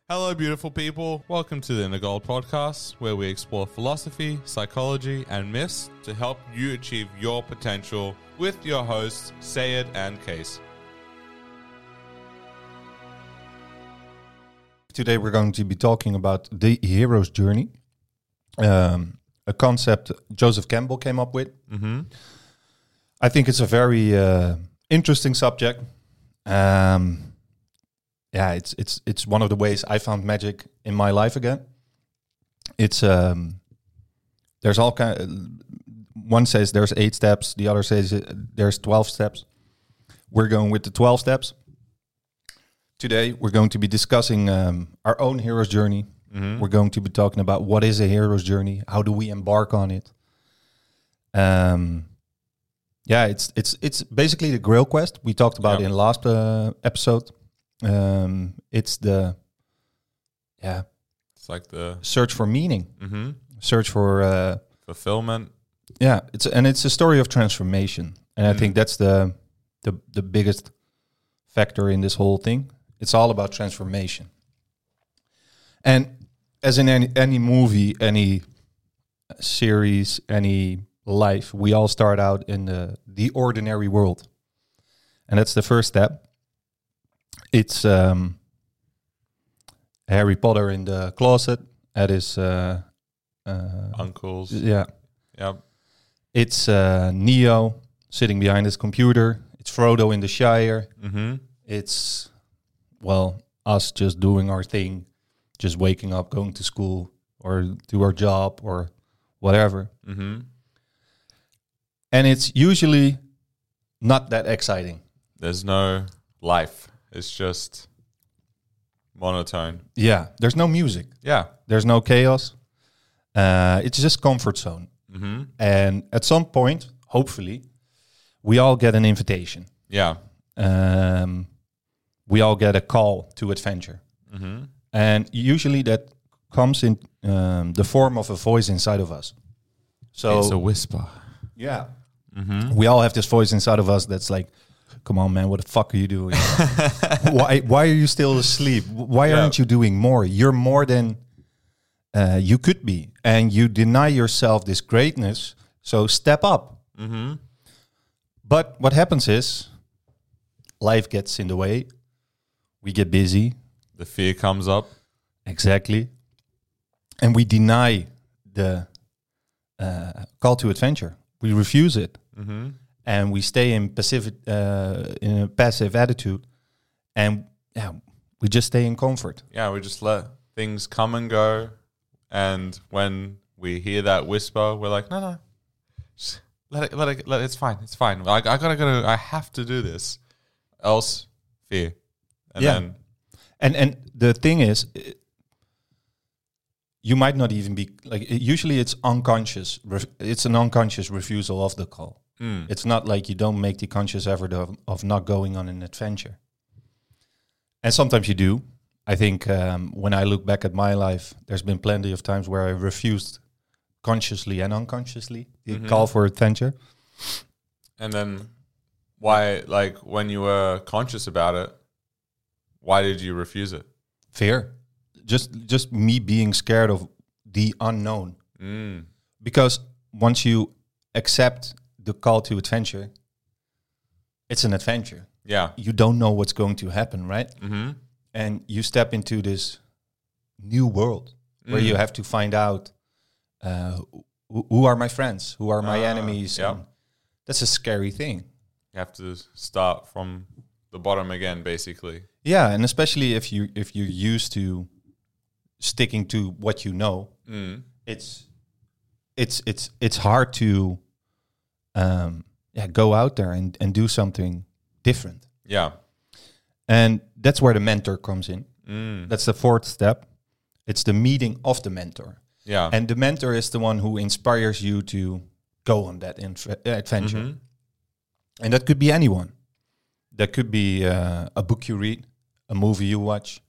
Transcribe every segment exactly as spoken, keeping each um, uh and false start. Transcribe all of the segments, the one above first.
Hello, beautiful people. Welcome to the Inner Gold Podcast, where we explore philosophy, psychology, and myths to help you achieve your potential with your hosts, Sayed and Case. Today we're going to be talking about the hero's journey, um, a concept Joseph Campbell came up with. Mm-hmm. I think it's a very uh, interesting subject. Um, yeah, it's it's it's one of the ways I found magic in my life again. It's um, there's all kind. Of, one says there's eight steps, the other says there's twelve steps. We're going with the twelve steps. Today, we're going to be discussing um, our own hero's journey. Mm-hmm. We're going to be talking about what is a hero's journey, how do we embark on it. Um, yeah, it's it's it's basically the Grail quest we talked about yep. in last uh, episode. Um, it's the yeah, it's like the search for meaning, mm-hmm. search for uh, fulfillment. Yeah, it's and it's a story of transformation, and mm. I think that's the the the biggest factor in this whole thing. It's all about transformation. And as in any, any movie, any series, any life, we all start out in the, the ordinary world. And that's the first step. It's um, Harry Potter in the closet at his... Uh, uh, Uncles. Yeah. Yep. It's uh, Neo sitting behind his computer. It's Frodo in the Shire. Mm-hmm. It's... well, us just doing our thing, just waking up, going to school or do our job or whatever. Mm-hmm. And it's usually not that exciting. There's no life. It's just monotone. Yeah, there's no music. Yeah. There's no chaos. Uh, it's just comfort zone. Mm-hmm. And at some point, hopefully, we all get an invitation. Yeah. Um... we all get a call to adventure. Mm-hmm. And usually that comes in um, the form of a voice inside of us. So it's a whisper. Yeah. Mm-hmm. We all have this voice inside of us that's like, come on, man, what the fuck are you doing? why Why are you still asleep? Why yeah. aren't you doing more? You're more than uh, you could be. And you deny yourself this greatness. So step up. Mm-hmm. But what happens is life gets in the way. We get busy. The fear comes up. Exactly. And we deny the uh, call to adventure. We refuse it. Mm-hmm. And we stay in passive, uh, in a passive attitude. And yeah, we just stay in comfort. Yeah, we just let things come and go. And when we hear that whisper, we're like, no, no. Just let it, let it, let it, it's fine. It's fine. I, I gotta, gotta, I have to do this. Else, fear. And yeah, then and and the thing is, it, you might not even be like. It, usually, it's unconscious. Ref, it's an unconscious refusal of the call. Mm. It's not like you don't make the conscious effort of, of not going on an adventure. And sometimes you do. I think um, when I look back at my life, there's been plenty of times where I refused consciously and unconsciously the mm-hmm. call for adventure. And then, why? Like when you were conscious about it. Why did you refuse it? Fear. Just just me being scared of the unknown. Mm. Because once you accept the call to adventure, it's an adventure. Yeah. You don't know what's going to happen, right? Mm-hmm. And you step into this new world mm. where you have to find out uh, who, who are my friends, who are my uh, enemies. Yeah. And that's a scary thing. You have to start from the bottom again, basically. Yeah, and especially if you if you're used to sticking to what you know, mm. it's it's it's it's hard to um, yeah go out there and, and do something different. Yeah, and that's where the mentor comes in. Mm. That's the fourth step. It's the meeting of the mentor. Yeah, and the mentor is the one who inspires you to go on that inf- adventure, mm-hmm. and that could be anyone. That could be uh, a book you read, a movie you watch,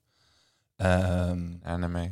um, anime.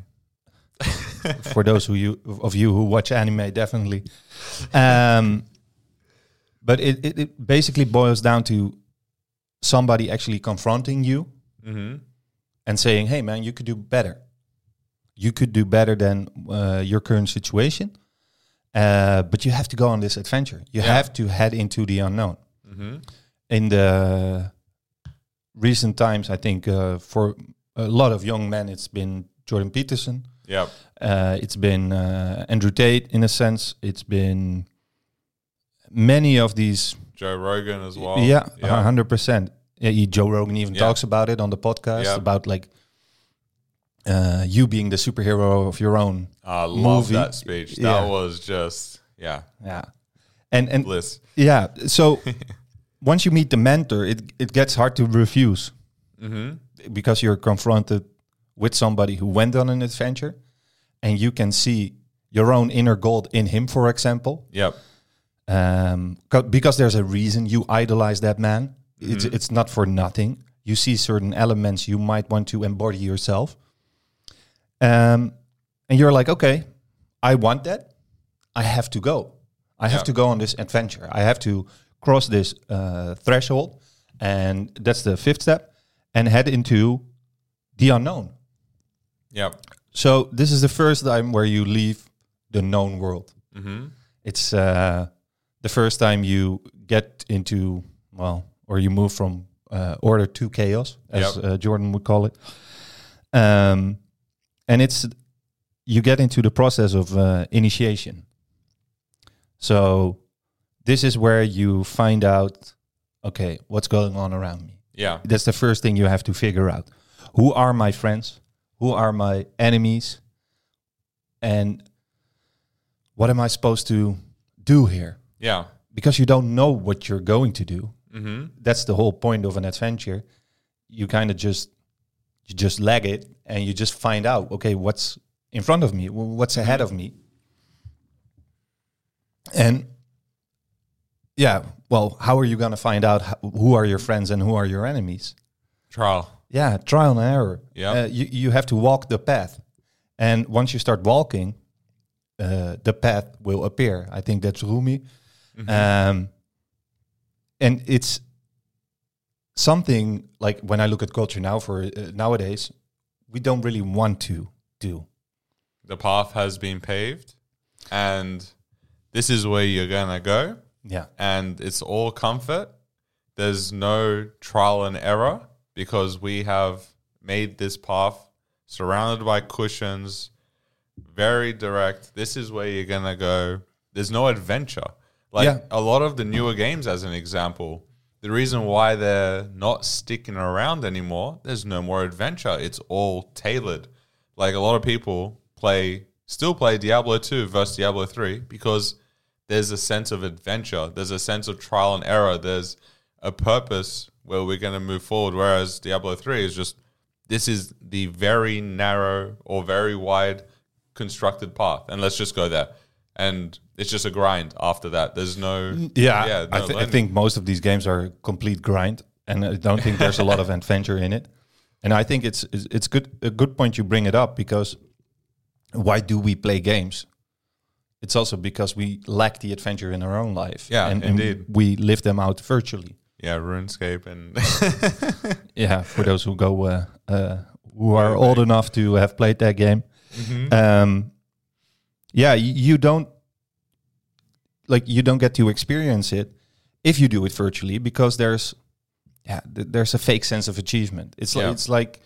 For those who you of you who watch anime, definitely. Um, but it, it, it basically boils down to somebody actually confronting you mm-hmm. and saying, hey, man, you could do better. You could do better than uh, your current situation. Uh, but you have to go on this adventure. You Yeah. have to head into the unknown. Mm-hmm. In the recent times, I think uh, for a lot of young men, it's been Jordan Peterson. Yep. Uh, it's been uh, Andrew Tate, in a sense. It's been many of these. Joe Rogan as well. Yeah, Yeah. one hundred percent. Yeah, he, Joe Rogan even Yeah. talks about it on the podcast, Yeah. about like uh, you being the superhero of your own. I love movie. that speech. That Yeah. was just, yeah, Yeah. And, and bliss. yeah, so once you meet the mentor, it, it gets hard to refuse Mm-hmm. because you're confronted with somebody who went on an adventure and you can see your own inner gold in him, for example. Yep. Um, co- because there's a reason you idolize that man. It's Mhm. it's not for nothing. You see certain elements you might want to embody yourself. Um, and you're like, okay, I want that. I have to go. I have Yeah. to go on this adventure. I have to cross this uh, threshold. And that's the fifth step. And head into the unknown. Yep. So this is the first time where you leave the known world. Mm-hmm. It's uh, the first time you get into, well, or you move from uh, order to chaos, as Yep. uh, Jordan would call it. Um, and it's, you get into the process of uh, initiation. So this is where you find out, okay, what's going on around me. Yeah. That's the first thing you have to figure out. Who are my friends? Who are my enemies? And what am I supposed to do here? Yeah. Because you don't know what you're going to do. Mm-hmm. That's the whole point of an adventure. You kind of just you just leg it and you just find out, okay, what's in front of me? Wh- What's ahead of me? And yeah, well, how are you going to find out ho- who are your friends and who are your enemies? Trial. Yeah, trial and error. Yeah. Uh, you, you have to walk the path. And once you start walking, uh, the path will appear. I think that's Rumi. Mhm. Um, and it's something like when I look at culture now for uh, nowadays, we don't really want to do. The path has been paved, and this is where you're gonna go, Yeah. and it's all comfort. There's no trial and error because we have made this path surrounded by cushions, very direct. This is where you're gonna go. There's no adventure. Like Yeah. a lot of the newer games, as an example, the reason why they're not sticking around anymore, there's no more adventure. It's all tailored. Like a lot of people play, still play Diablo two versus Diablo three because there's a sense of adventure. There's a sense of trial and error. There's a purpose where we're going to move forward. Whereas Diablo three is just, this is the very narrow or very wide constructed path. And let's just go there. And it's just a grind after that. There's no... Yeah, yeah I, no th- I learning. think most of these games are a complete grind, and I don't think there's a lot of adventure in it. And I think it's it's it's good a good point you bring it up, because why do we play games? It's also because we lack the adventure in our own life. Yeah, and, and indeed. we live them out virtually. Yeah, RuneScape and... Yeah, for those who go uh, uh, who are old enough to have played that game. Mhm. Um, yeah, y- you don't like you don't get to experience it if you do it virtually, because there's yeah th- there's a fake sense of achievement. It's like Yeah. it's like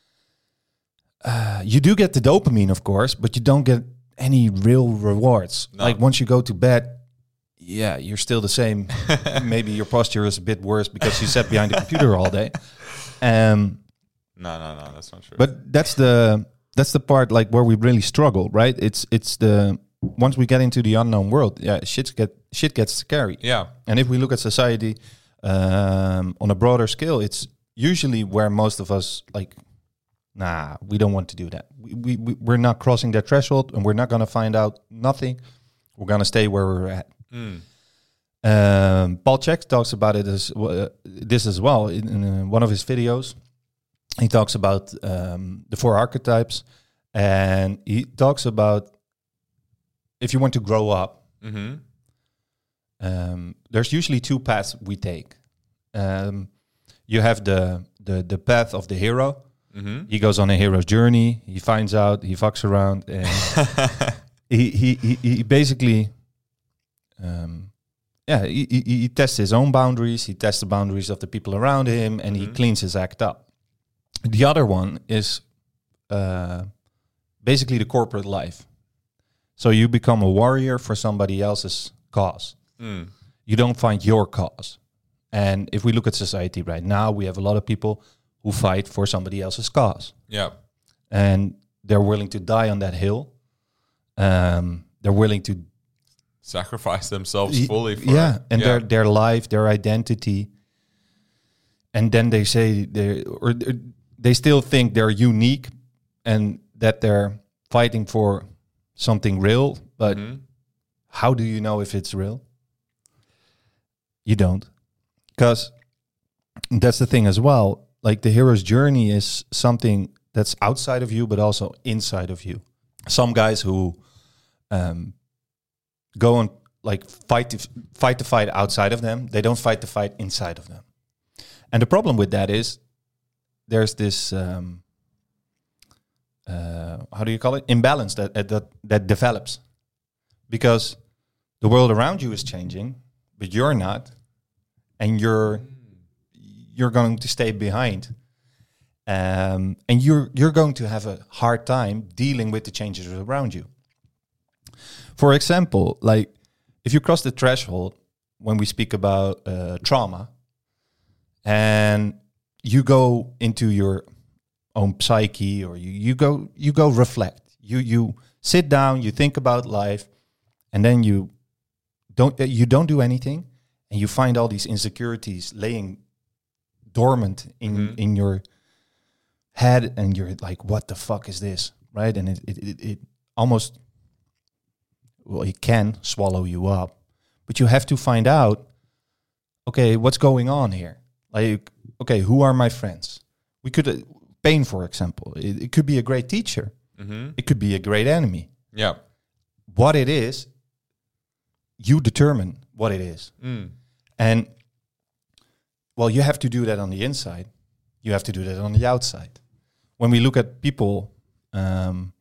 uh, you do get the dopamine, of course, but you don't get any real rewards. No. Like once you go to bed, yeah, you're still the same. Maybe your posture is a bit worse because you sat behind the computer all day. Um, No, no, no, that's not true. but that's the that's the part like where we really struggle, right? It's it's the once we get into the unknown world, yeah, shit get shit gets scary. yeah, And if we look at society um, on a broader scale, it's usually where most of us like, nah, we don't want to do that. We, we, we we're not crossing that threshold, and we're not going to find out nothing. We're going to stay where we're at. Mm. Um, Paul Chek talks about it as uh, this as well in, in uh, one of his videos. He talks about um, the four archetypes, and he talks about if you want to grow up, Mm-hmm. um, there's usually two paths we take. Um, you have the, the the path of the hero, Mm-hmm. He goes on a hero's journey. He finds out. He fucks around, and he, he he he basically, um, yeah, he, he he tests his own boundaries. He tests the boundaries of the people around him, and Mm-hmm. he cleans his act up. The other one is uh, basically the corporate life. So you become a warrior for somebody else's cause. Mm. You don't find your cause. And if we look at society right now, we have a lot of people who fight for somebody else's cause. Yeah. And they're willing to die on that hill. Um, they're willing to... Sacrifice themselves Y- fully for yeah, it. and yeah. their their life, their identity. And then they say they or they still think they're unique and that they're fighting for something real, but Mhm. how do you know if it's real? You don't. Because that's the thing as well. Like the hero's journey is something that's outside of you, but also inside of you. Some guys who um, go and like fight to, fight the fight outside of them, they don't fight the fight inside of them. And the problem with that is there's this um, uh, how do you call it? Imbalance that uh, that that develops because the world around you is changing, but you're not, and you're you're going to stay behind, um, and you're you're going to have a hard time dealing with the changes around you. For example, like if you cross the threshold when we speak about uh, trauma, and you go into your own psyche, or you, you go you go reflect. You you sit down, you think about life, and then you don't uh, you don't do anything, and you find all these insecurities laying dormant in Mhm. in your head, and you're like, what the fuck is this, right? And it it it, it almost, well, it can swallow you up, but you have to find out, okay, what's going on here? Like, okay, who are my friends? We could, uh, pain, for example, it, it could be a great teacher. Mhm. It could be a great enemy. Yeah. What it is, you determine what it is. Mm. And, well, you have to do that on the inside. You have to do that on the outside. When we look at people, um,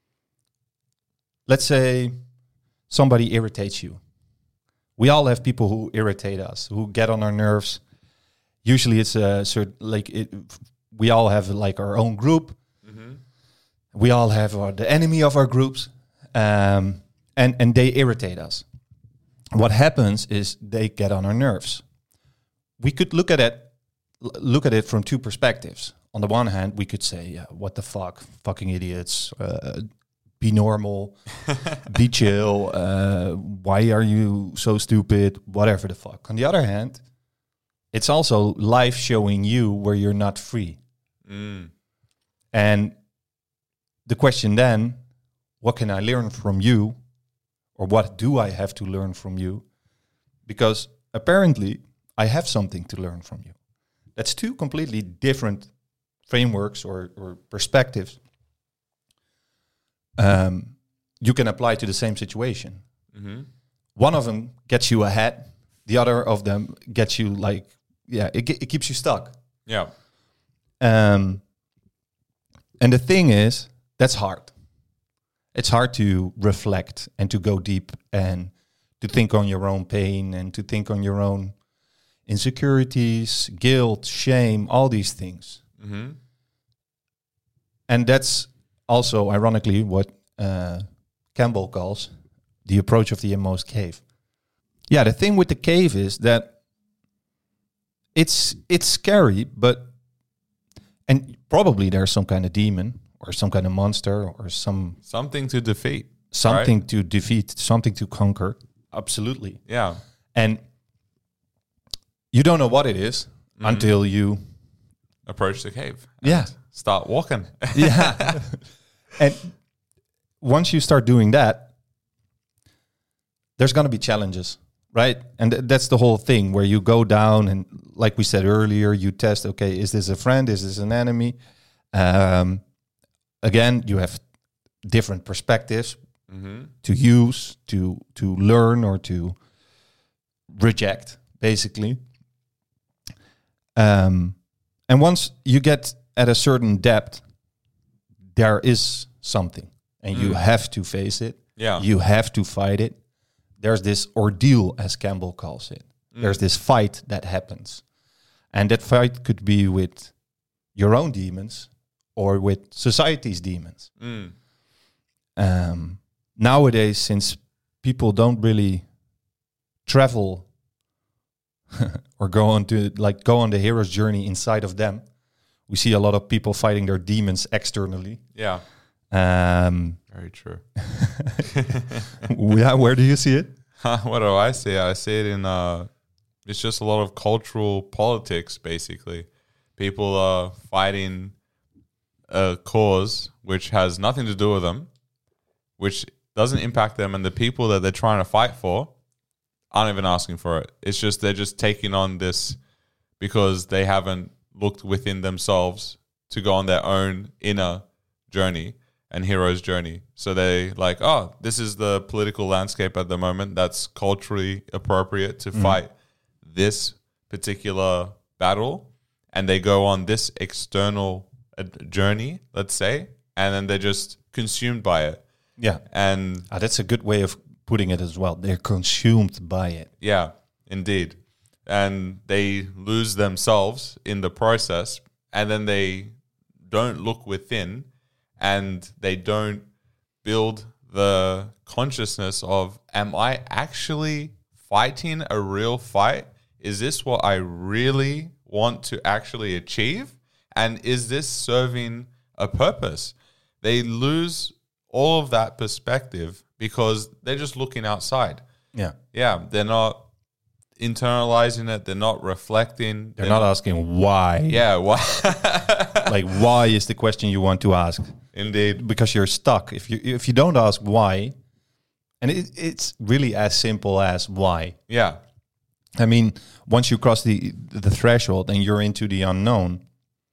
let's say somebody irritates you. We all have people who irritate us, who get on our nerves. Usually it's a certain, like, it, we all have like our own group. Mhm. We all have our, the enemy of our groups, um, and, and they irritate us. What happens is they get on our nerves. We could look at it, l- look at it from two perspectives. On the one hand, we could say, yeah, what the fuck, fucking idiots, uh, be normal, be chill, uh, why are you so stupid, whatever the fuck. On the other hand, it's also life showing you where you're not free. Mm. And the question then, what can I learn from you? Or what do I have to learn from you? Because apparently I have something to learn from you. That's two completely different frameworks or, or perspectives um, you can apply to the same situation. Mhm. One of them gets you ahead. The other of them gets you like, yeah, it, ge- it keeps you stuck. Yeah. Um, and the thing is, that's hard. It's hard to reflect and to go deep and to think on your own pain and to think on your own insecurities, guilt, shame, all these things. Mhm. And that's also, ironically, what uh, Campbell calls the approach of the inmost cave. Yeah, the thing with the cave is that it's it's scary, but and probably there's some kind of demon or some kind of monster or some Something to defeat. something right? to defeat, something to conquer. Absolutely. Yeah. And you don't know what it is Mhm. until you Approach the cave. Yeah. and Start walking. yeah. And once you start doing that, there's going to be challenges, right? And th- that's the whole thing where you go down and, like we said earlier, you test, okay, is this a friend? Is this an enemy? Um, again, you have different perspectives Mhm. to use, to to learn or to reject, basically. Um, and once you get at a certain depth, there is something, and you Mm. have to face it. Yeah. You have to fight it. There's this ordeal, as Campbell calls it. Mm. There's this fight that happens. And that fight could be with your own demons or with society's demons. Mm. Um, nowadays, since people don't really travel or go on to like go on the hero's journey inside of them, we see a lot of people fighting their demons externally. Yeah. Um, Very true. yeah, where do you see it? What do I see? I see it in uh it's just a lot of cultural politics, basically. People are fighting a cause which has nothing to do with them, which doesn't impact them, and the people that they're trying to fight for aren't even asking for it. It's just they're just taking on this because they haven't looked within themselves to go on their own inner journey and hero's journey. So they like, oh, this is the political landscape at the moment that's culturally appropriate to Mm. fight this particular battle, and they go on this external uh, journey, let's say, and then they're just consumed by it. Yeah, And ah, that's a good way of putting it as well. They're consumed by it. yeah, indeed. And they lose themselves in the process, and then they don't look within, and they don't build the consciousness of, am I actually fighting a real fight? Is this what I really want to actually achieve? And is this serving a purpose? They lose all of that perspective because they're just looking outside. Yeah, Yeah, they're not internalizing it. They're not reflecting. they're not asking why. Yeah, why? Like, why is the question you want to ask? Indeed. Because you're stuck. If you if you don't ask why, and it, it's really as simple as why. Yeah. I mean, once you cross the the threshold and you're into the unknown,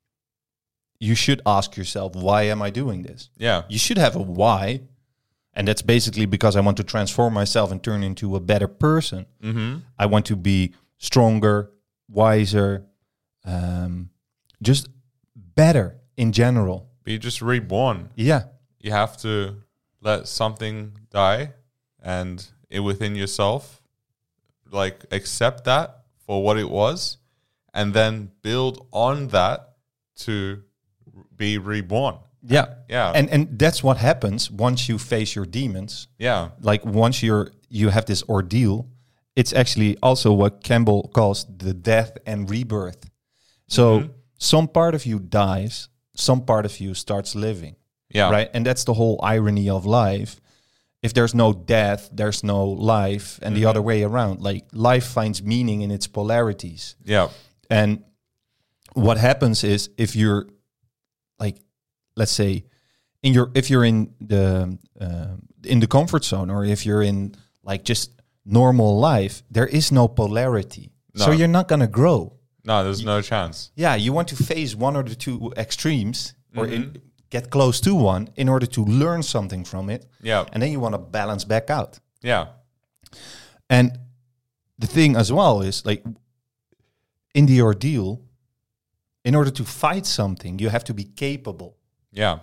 you should ask yourself, why am I doing this? Yeah. You should have a why, and that's basically because I want to transform myself and turn into a better person. Mm-hmm. I want to be stronger, wiser, um, just better in general. Be just reborn. Yeah, You have to let something die, and it within yourself, like accept that for what it was, and then build on that to be reborn. yeah, Yeah. and and that's what happens once you face your demons. yeah. Like once you're you have this ordeal, it's actually also what Campbell calls the death and rebirth. So Mhm. some part of you dies, some part of you starts living. Yeah. Right? And that's the whole irony of life. If there's no death, there's no life, and the Mhm. other way around. Like life finds meaning in its polarities. Yeah. And what happens is if you're like, let's say, in your if you're in the uh, in the comfort zone, or if you're in like just normal life, there is no polarity. So No. you're not gonna grow. No, there's no chance. Yeah, you want to face one or the two extremes, or in, Mhm. get close to one in order to learn something from it, Yeah. and then you want to balance back out. Yeah. And the thing as well is like in the ordeal, in order to fight something, you have to be capable. Yeah.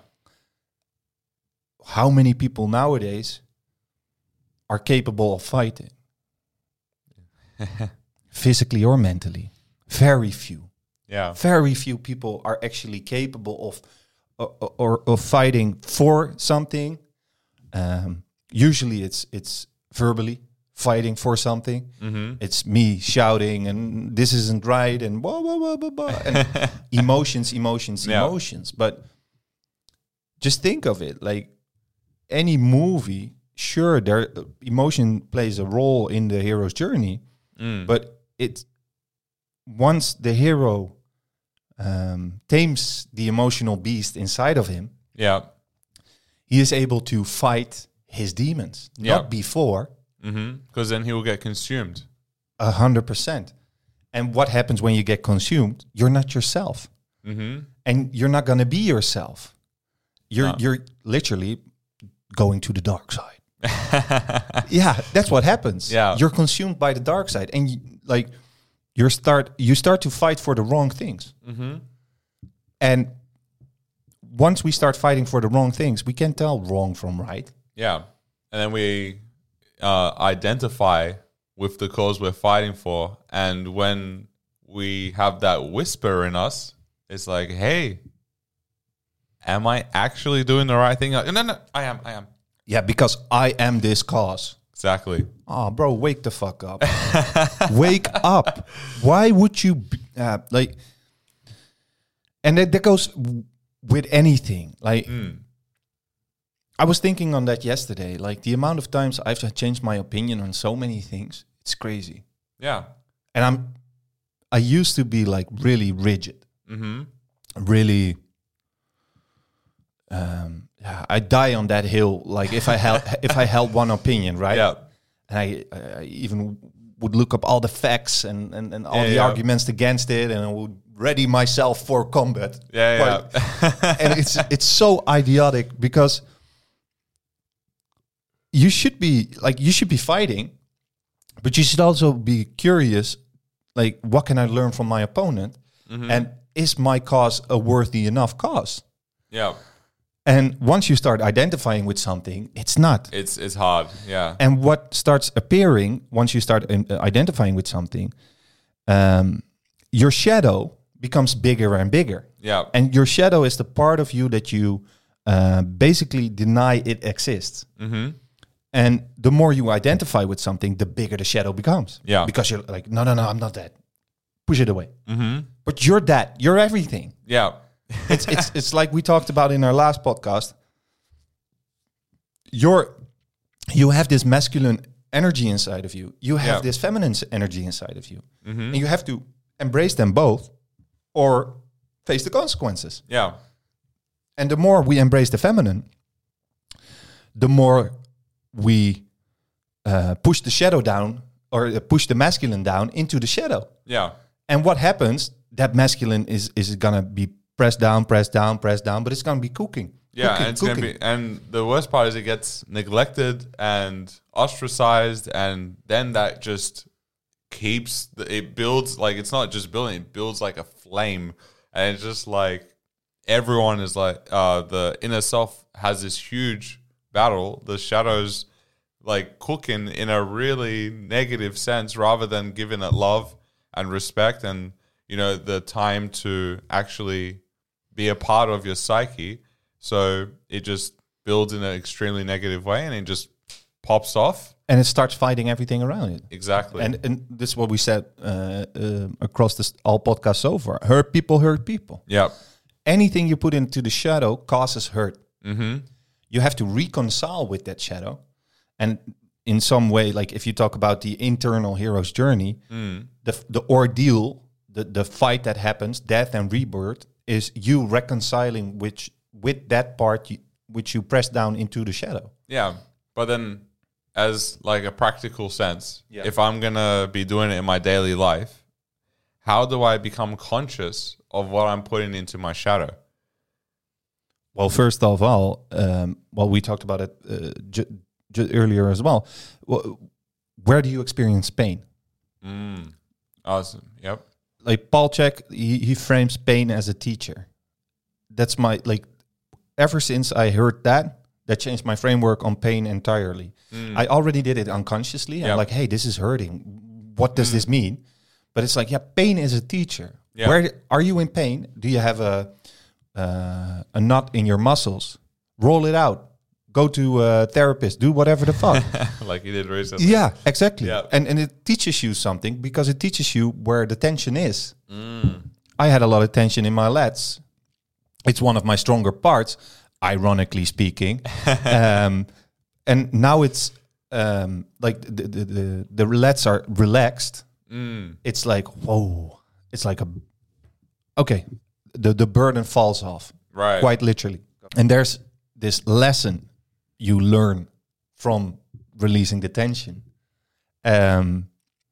How many people nowadays are capable of fighting? Physically or mentally? Very few. Yeah. Very few people are actually capable of or, or of fighting for something. Um, usually it's it's verbally fighting for something. Mm-hmm. It's me shouting and this isn't right and blah blah blah blah blah and emotions, emotions, Yeah. emotions. But just think of it like any movie. Sure, there emotion plays a role in the hero's journey, Mm. but it once the hero um, tames the emotional beast inside of him, Yeah. he is able to fight his demons. Yeah. Not before. Mm-hmm. Because then he will get consumed. A hundred percent. And what happens when you get consumed? You're not yourself, Mm-hmm. and you're not going to be yourself. You're No. you're literally going to the dark side. Yeah, that's what happens. Yeah. You're consumed by the dark side, and you, like you start you start to fight for the wrong things. Mm-hmm. And once we start fighting for the wrong things, we can tell wrong from right. Yeah. And then we uh, identify with the cause we're fighting for. And when we have that whisper in us, it's like, hey, am I actually doing the right thing? Like, no, no, I am, I am. Yeah, because I am this cause. Exactly. Oh, bro, wake the fuck up. Wake up. Why would you, be, uh, like, and that, that goes w- with anything. Like, Mm. I was thinking on that yesterday. Like, the amount of times I've changed my opinion on so many things, it's crazy. Yeah. And I'm, I used to be like really rigid, Mm-hmm. really, um, yeah, I die on that hill. Like if I held, if I held one opinion, right? Yeah. And I, I even would look up all the facts and, and, and all Yeah, the yeah. arguments against it, and I would ready myself for combat. Yeah, yeah. But- and it's it's so idiotic because you should be like you should be fighting, but you should also be curious. Like, what can I learn from my opponent? Mhm. And is my cause a worthy enough cause? Yeah. And once you start identifying with something, it's not. It's it's hard. Yeah. And what starts appearing once you start um, uh, identifying with something, um, your shadow becomes bigger and bigger. Yeah. And your shadow is the part of you that you uh, basically deny it exists. Mm-hmm. And the more you identify with something, the bigger the shadow becomes. Yeah. Because you're like, no, no, no, I'm not that. Push it away. Mm-hmm. But you're that. You're everything. Yeah. It's it's it's like we talked about in our last podcast. You're you have this masculine energy inside of you. You have Yeah. this feminine s- energy inside of you. Mm-hmm. And you have to embrace them both or face the consequences. Yeah. And the more we embrace the feminine, the more we uh, push the shadow down or uh, push the masculine down into the shadow. Yeah. And what happens? That masculine is is gonna be pressed down, pressed down, pressed down, but it's gonna be cooking. Yeah, cooking, and it's cooking. gonna be, and the worst part is it gets neglected and ostracized, and then that just keeps the, it builds like it's not just building, it builds like a flame, and it's just like everyone is like uh, the inner self has this huge battle, the shadows like cooking in a really negative sense rather than giving it love and respect and you know the time to actually be a part of your psyche. So it just builds in an extremely negative way and it just pops off. And it starts fighting everything around it. Exactly. And and this is what we said uh, uh, across this all podcasts so far. Hurt people hurt people. yeah. Anything you put into the shadow causes hurt. Mm-hmm. You have to reconcile with that shadow. And in some way, like if you talk about the internal hero's journey, Mm. the the ordeal, the, the fight that happens, death and rebirth, is you reconciling which with that part you, which you press down into the shadow. Yeah. But then as like a practical sense, Yeah. if I'm going to be doing it in my daily life, how do I become conscious of what I'm putting into my shadow? Well, first of all, um, well, we talked about it uh, ju- ju- earlier as well. Wh- Where do you experience pain? Mm. Awesome. Yep. Like Paul Chek, he, he frames pain as a teacher. That's my, like, ever since I heard that, that changed my framework on pain entirely. Mm. I already did it unconsciously. Yeah. I'm like, hey, this is hurting. What does Mm. this mean? But it's like, yeah, pain is a teacher. Yeah. Where are you in pain? Do you have a uh, a knot in your muscles? Roll it out. Go to a therapist. Do whatever the fuck. Like you did recently. Yeah, exactly. Yeah. And and it teaches you something because it teaches you where the tension is. Mm. I had a lot of tension in my lats. It's one of my stronger parts, ironically speaking. um, and now it's um, like the, the the the lats are relaxed. Mm. It's like whoa. It's like a okay. The the burden falls off Right. quite literally. And there's this lesson you learn from releasing the tension. Um,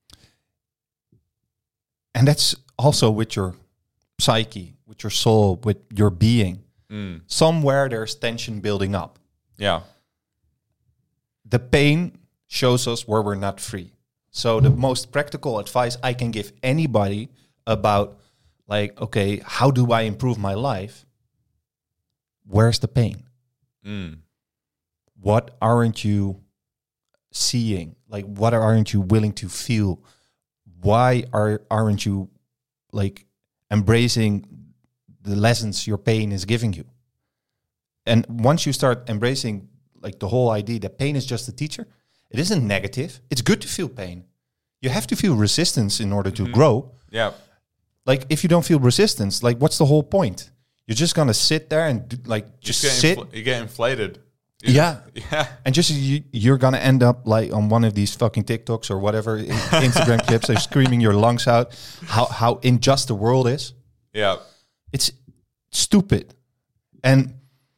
and that's also with your psyche, with your soul, with your being. Mm. Somewhere there's tension building up. Yeah. The pain shows us where we're not free. So the most practical advice I can give anybody about like, okay, how do I improve my life? where's the pain? Mm. What aren't you seeing? Like, what aren't you willing to feel? Why are aren't you like embracing the lessons your pain is giving you? And once you start embracing like the whole idea that pain is just a teacher, it isn't negative. It's good to feel pain. You have to feel resistance in order to Mm-hmm. grow. Yeah. Like if you don't feel resistance, like what's the whole point? You're just gonna sit there and do, like just You get sit. infl- you get inflated. You- Yeah. Yeah. And just you, you're gonna end up like on one of these fucking TikToks or whatever i- Instagram clips. They're screaming your lungs out. How how unjust the world is. Yeah. It's stupid. And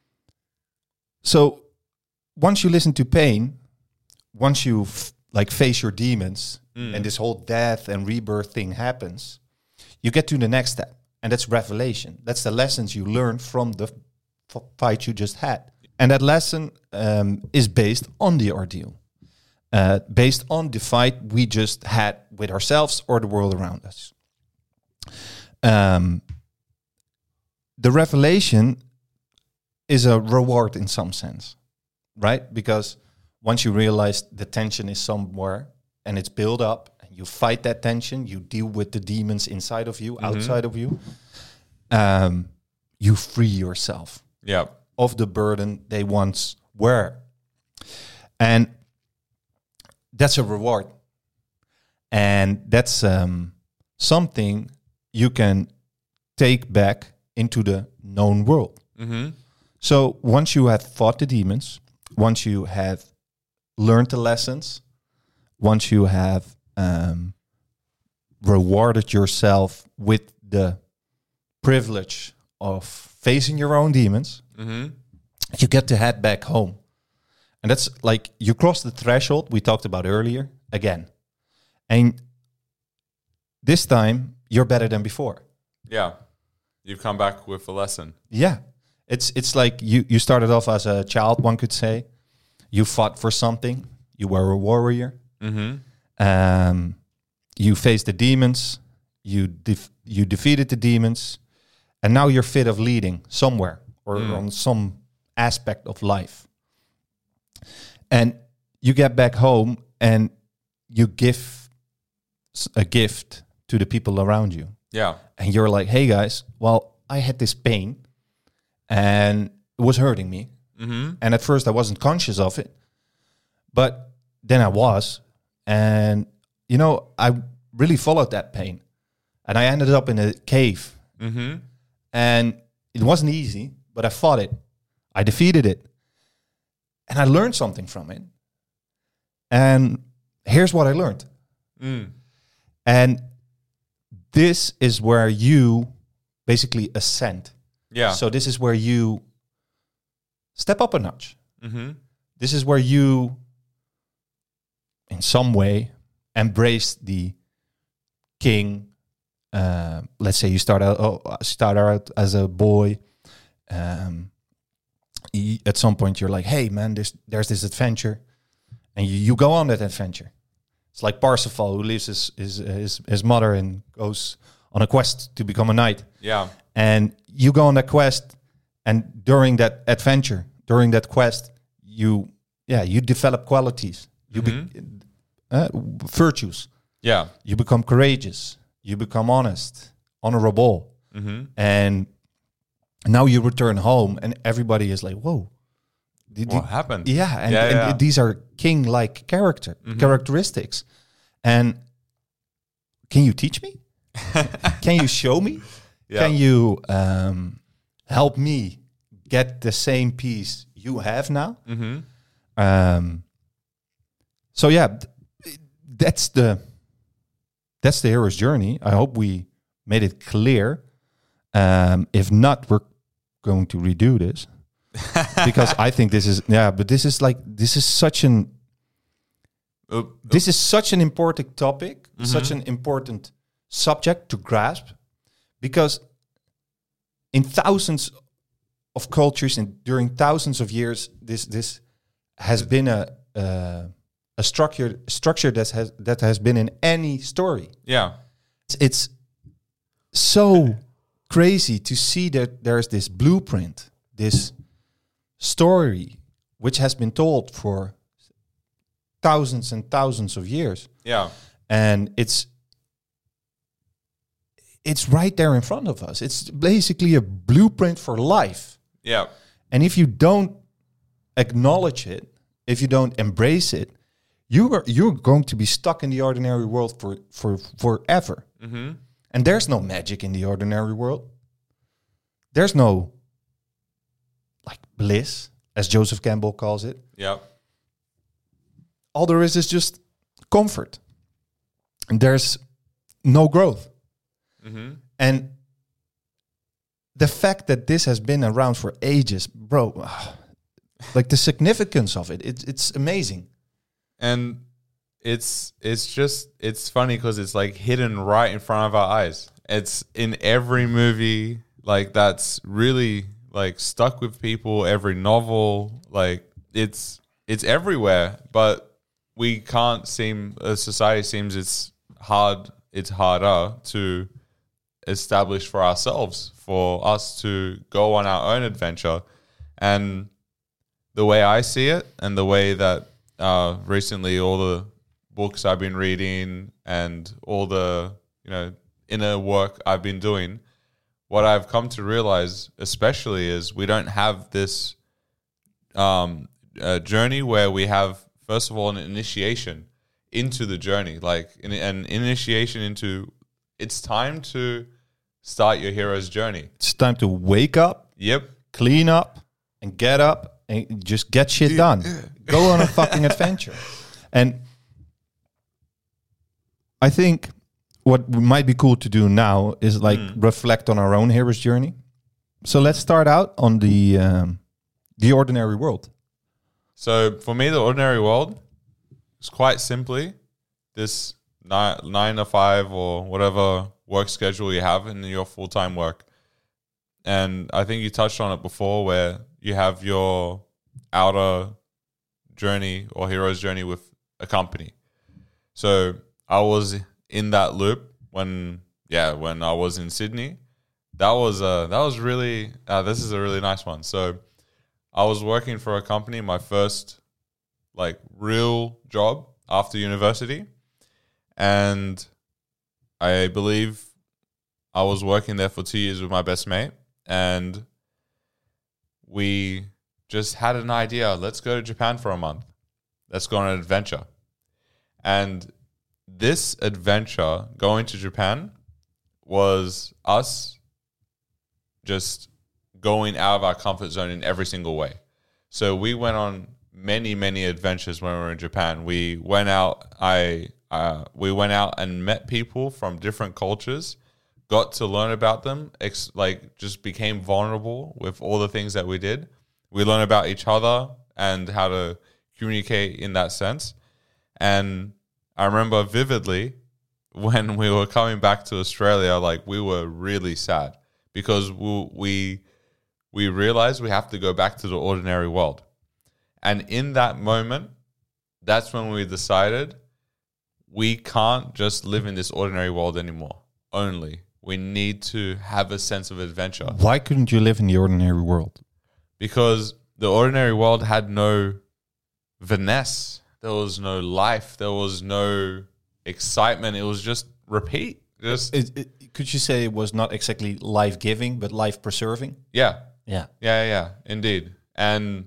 so once you listen to pain, once you f- like face your demons, Mm. and this whole death and rebirth thing happens, you get to the next step, and that's revelation. That's the lessons you learn from the f- fight you just had. And that lesson um, is based on the ordeal, uh, based on the fight we just had with ourselves or the world around us. Um, the revelation is a reward in some sense, right? Because once you realize the tension is somewhere and it's built up, and you fight that tension, you deal with the demons inside of you, outside of you, um, you free yourself Yeah. of the burden they once were. And that's a reward. And that's um, something you can take back into the known world. Mm-hmm. So once you have fought the demons, once you have learned the lessons, once you have um, rewarded yourself with the privilege of facing your own demons, Mm-hmm. you get to head back home. And that's like you cross the threshold we talked about earlier again. And this time you're better than before. Yeah. You've come back with a lesson. Yeah. It's it's like you, you started off as a child, one could say. You fought for something. You were a warrior. Mm-hmm. Um, you faced the demons. You def- you defeated the demons. And now you're fit of leading somewhere or Mm. on some aspect of life. And you get back home and you give s- a gift to the people around you. Yeah. And you're like, hey guys, well, I had this pain and it was hurting me. Mm-hmm. And at first I wasn't conscious of it, but then I was. And, you know, I really followed that pain. And I ended up in a cave. Mm-hmm. And it wasn't easy, but I fought it. I defeated it. And I learned something from it. And here's what I learned. Mm. And this is where you basically ascend. Yeah. So this is where you step up a notch. Mm-hmm. This is where you, in some way, embrace the king. Uh, let's say you start out, oh, start out as a boy. Um, y- at some point, you're like, "Hey, man, there's there's this adventure," and you, you go on that adventure. It's like Parsifal, who leaves his his his, his mother and goes on a quest to become a knight. Yeah. And you go on that quest, and during that adventure, during that quest, you yeah you develop qualities, you be, uh, virtues. Yeah. You become courageous. You become honest, honorable, Mm-hmm. and now you return home, and everybody is like, "Whoa, did What you- happened? yeah!" And, Yeah, and yeah. these are king-like character characteristics. And can you teach me? Can you show me? Yeah. Can you um, help me get the same peace you have now? Mm-hmm. Um, so yeah, th- that's the that's the hero's journey. I hope we made it clear. Um, if not, we're going to redo this because I think this is yeah. But this is like this is such an Oop. this is such an important topic, such an important subject to grasp, because in thousands of cultures and during thousands of years, this this has been a uh, a structure structure that has that has been in any story. Yeah. It's, it's so crazy to see that there's this blueprint, this story which has been told for thousands and thousands of years. Yeah. And it's it's right there in front of us. It's basically a blueprint for life. Yeah. And if you don't acknowledge it, if you don't embrace it, you are you're going to be stuck in the ordinary world for for forever. Mm-hmm. And there's no magic in the ordinary world. There's no like bliss, as Joseph Campbell calls it. Yeah. All there is is just comfort. And there's no growth. Mm-hmm. And the fact that this has been around for ages, bro, like the significance of it, it it's amazing. And it's it's just it's funny because it's like hidden right in front of our eyes. It's in every movie, like that's really like stuck with people. Every novel, like it's it's everywhere. But we can't seem. As society seems it's hard. It's harder to establish for ourselves, for us to go on our own adventure. And the way I see it, and the way that uh, recently all the books I've been reading and all the, you know, inner work I've been doing, what I've come to realize especially is we don't have this um, uh, journey where we have, first of all, an initiation into the journey, like an, an initiation into it's time to start your hero's journey. It's time to wake up, Yep. clean up, and get up and just get shit done. Go on a fucking adventure. And I think what might be cool to do now is like Mm. reflect on our own hero's journey. So let's start out on the um, the ordinary world. So for me, the ordinary world is quite simply this nine, nine to five or whatever work schedule you have in your full-time work. And I think you touched on it before, where you have your outer journey or hero's journey with a company. So I was in that loop when, yeah, when I was in Sydney. That was uh, that was really, uh, this is a really nice one. So I was working for a company, my first like real job after university. And I believe I was working there for two years with my best mate. And we just had an idea. Let's go to Japan for a month. Let's go on an adventure. And this adventure, going to Japan, was us just going out of our comfort zone in every single way. So we went on many, many adventures when we were in Japan. We went out, I, uh, we went out and met people from different cultures, got to learn about them, ex- like just became vulnerable with all the things that we did. We learned about each other and how to communicate in that sense. And I remember vividly when we were coming back to Australia, like we were really sad because we we, we realized we have to go back to the ordinary world. And in that moment, that's when we decided we can't just live in this ordinary world anymore. Only. We need to have a sense of adventure. Why couldn't you live in the ordinary world? Because the ordinary world had no finesse. There was no life. There was no excitement. It was just repeat. Just It, it, could you say it was not exactly life-giving, but life-preserving? yeah, Yeah. yeah, yeah, indeed. And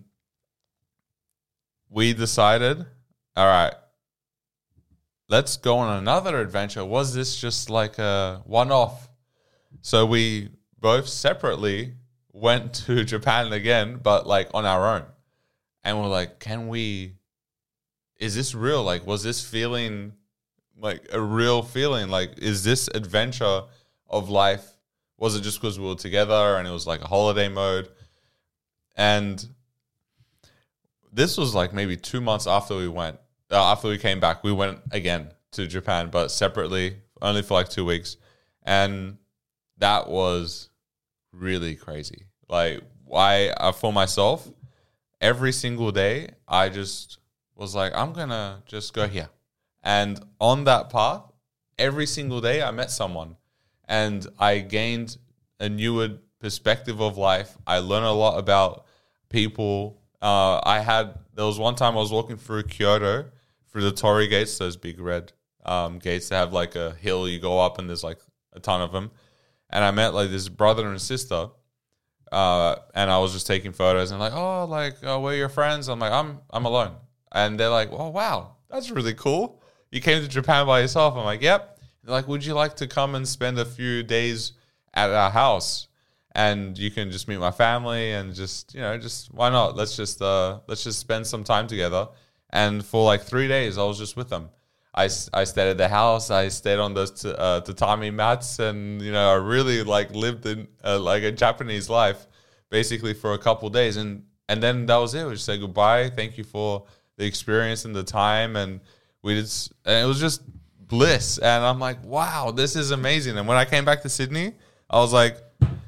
we decided, all right, let's go on another adventure. Was this just like a one-off? So we both separately went to Japan again, but like on our own. And we're like, can we, is this real? Like, was this feeling like a real feeling? Like, is this adventure of life? Was it just because we were together and it was like a holiday mode? And this was like maybe two months after we went, uh, after we came back, we went again to Japan, but separately, only for like two weeks. And that was really crazy. Like, I, uh, for myself, every single day, I just was like, I'm going to just go here. And on that path, every single day, I met someone. And I gained a newer perspective of life. I learned a lot about people. Uh, I had there was one time I was walking through Kyoto through the Torii gates, those big red um, gates that have like a hill you go up and there's like a ton of them, and I met like this brother and sister, uh, and I was just taking photos and like, oh, like oh, we're your friends. I'm like, I'm I'm alone, and they're like, oh wow, that's really cool. You came to Japan by yourself. I'm like, yep. They're like, would you like to come and spend a few days at our house? And you can just meet my family and just, you know, just why not? Let's just uh, let's just spend some time together. And for like three days, I was just with them. I, I stayed at the house. I stayed on those t- uh, tatami mats, and you know, I really like lived in uh, like a Japanese life, basically for a couple days. And and then that was it. We just said goodbye. Thank you for the experience and the time. And we did, and it was just bliss. And I'm like, wow, this is amazing. And when I came back to Sydney, I was like,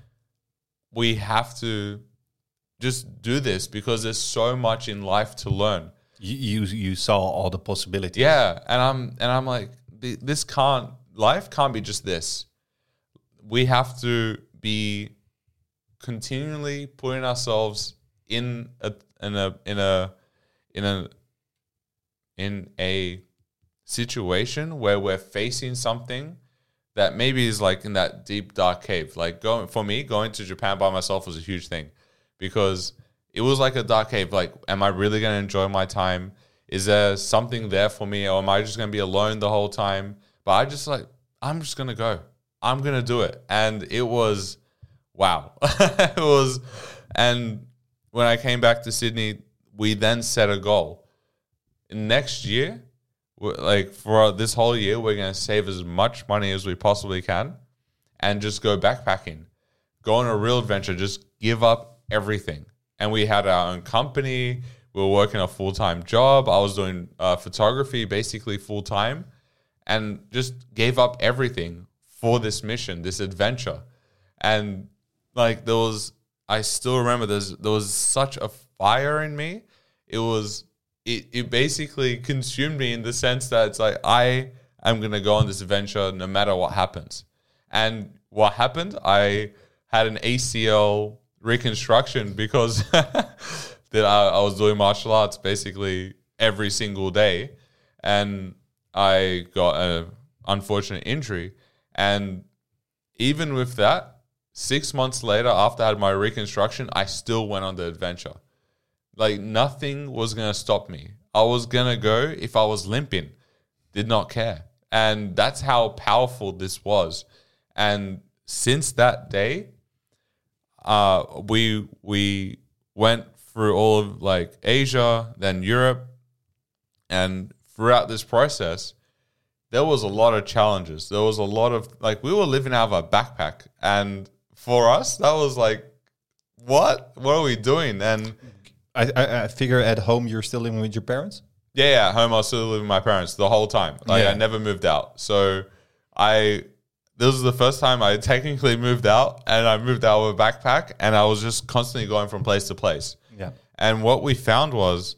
we have to just do this because there's so much in life to learn. You you, you saw all the possibilities. Yeah, and I'm and I'm like, this can't life can't be just this. We have to be continually putting ourselves in a in a in a in a in a situation where we're facing something that maybe is like in that deep dark cave. Like going for me, going to Japan by myself was a huge thing because it was like a dark cave. Like, am I really going to enjoy my time? Is there something there for me, or am I just going to be alone the whole time? But I just like, I'm just going to go. I'm going to do it. And it was, wow. It was, and when I came back to Sydney, we then set a goal. Next year, like for this whole year, we're going to save as much money as we possibly can and just go backpacking, go on a real adventure, just give up everything. And we had our own company. We were working a full-time job. I was doing uh, photography basically full-time and just gave up everything for this mission, this adventure. And like there was, I still remember there's, there was such a fire in me. It was... It, it basically consumed me in the sense that it's like, I am going to go on this adventure no matter what happens. And what happened? I had an A C L reconstruction because that I, I was doing martial arts basically every single day. And I got an unfortunate injury. And even with that, six months later, after I had my reconstruction, I still went on the adventure. Like nothing was going to stop me. I was going to go if I was limping. Did not care. And that's how powerful this was. And since that day, uh, we we went through all of like Asia, then Europe. And throughout this process, there was a lot of challenges. There was a lot of like, we were living out of a backpack. And for us, that was like, what? What are we doing? And I, I, I figure at home you're still living with your parents? Yeah, yeah. At home I was still living with my parents the whole time. Like yeah. I never moved out. So I this was the first time I technically moved out, and I moved out with a backpack, and I was just constantly going from place to place. Yeah. And what we found was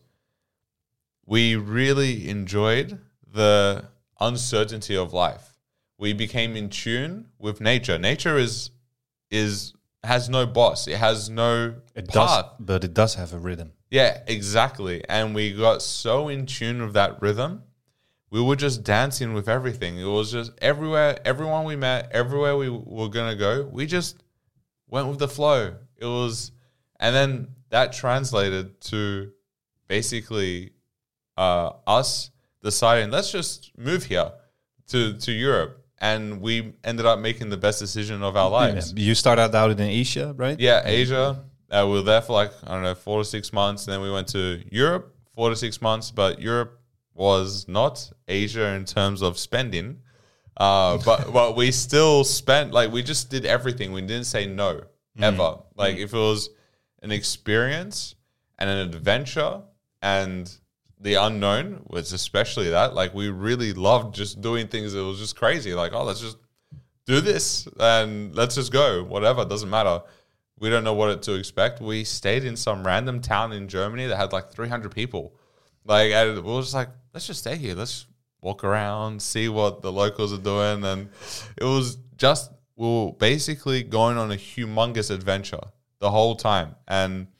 we really enjoyed the uncertainty of life. We became in tune with nature. Nature is is has no boss. It has no it path. Does, but it does have a rhythm. Yeah, exactly. And we got so in tune with that rhythm. We were just dancing with everything. It was just everywhere, everyone we met, everywhere we were going to go, we just went with the flow. It was, and then that translated to basically uh, us deciding, let's just move here to, to Europe. And we ended up making the best decision of our lives. Yeah. You started out in Asia, right? Yeah, Asia. Uh, we were there for like, I don't know, four to six months. And then we went to Europe, four to six months. But Europe was not Asia in terms of spending. Uh, but but we still spent, like, we just did everything. We didn't say no, ever. Mm. Like, mm. if it was an experience and an adventure and the unknown was especially that, like, we really loved just doing things that was just crazy. Like, oh, let's just do this and let's just go. Whatever, doesn't matter. We don't know what to expect. We stayed in some random town in Germany that had like three hundred people. Like, and we were just like, let's just stay here. Let's walk around, see what the locals are doing. And it was just, we were basically going on a humongous adventure the whole time. And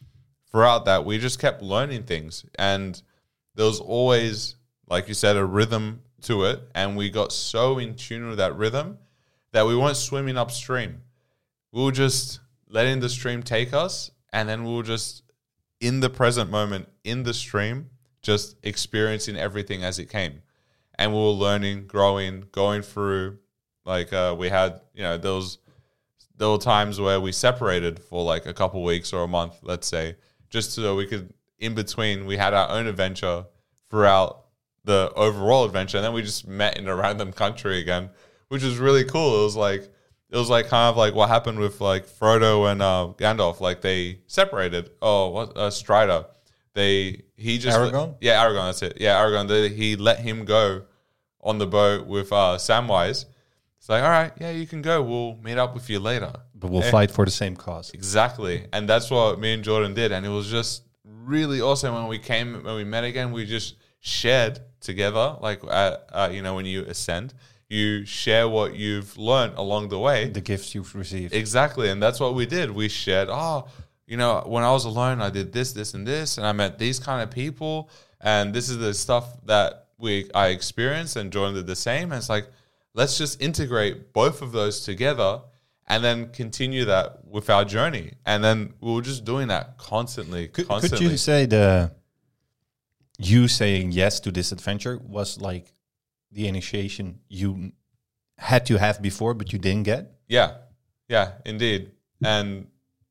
throughout that, we just kept learning things. And there was always, like you said, a rhythm to it. And we got so in tune with that rhythm that we weren't swimming upstream. We were just letting the stream take us. And then we were just in the present moment, in the stream, just experiencing everything as it came. And we were learning, growing, going through, like uh, we had, you know, there was, there were times where we separated for like a couple weeks or a month, let's say, just so we could, in between, we had our own adventure throughout the overall adventure. And then we just met in a random country again, which was really cool. It was like, it was like kind of like what happened with like Frodo and uh, Gandalf. Like they separated. Oh, what uh, Strider. They he just Aragorn? yeah, Aragorn. That's it. Yeah, Aragorn. They, he let him go on the boat with uh, Samwise. It's like, all right, yeah, you can go. We'll meet up with you later. But we'll Yeah. fight for the same cause. Exactly, and that's what me and Jordan did, and it was just really awesome. When we came, when we met again, we just shared together. Like, uh, uh, you know, when you ascend, you share what you've learned along the way. The gifts you've received. Exactly, and that's what we did. We shared, oh, you know, when I was alone, I did this, this, and this, and I met these kind of people, and this is the stuff that we I experienced, and Jordan did the same. And it's like, let's just integrate both of those together, and then continue that with our journey. And then we were just doing that constantly, Could, constantly. could you say the you saying yes to this adventure was like the initiation you had to have before, but you didn't get? Yeah, yeah, indeed. And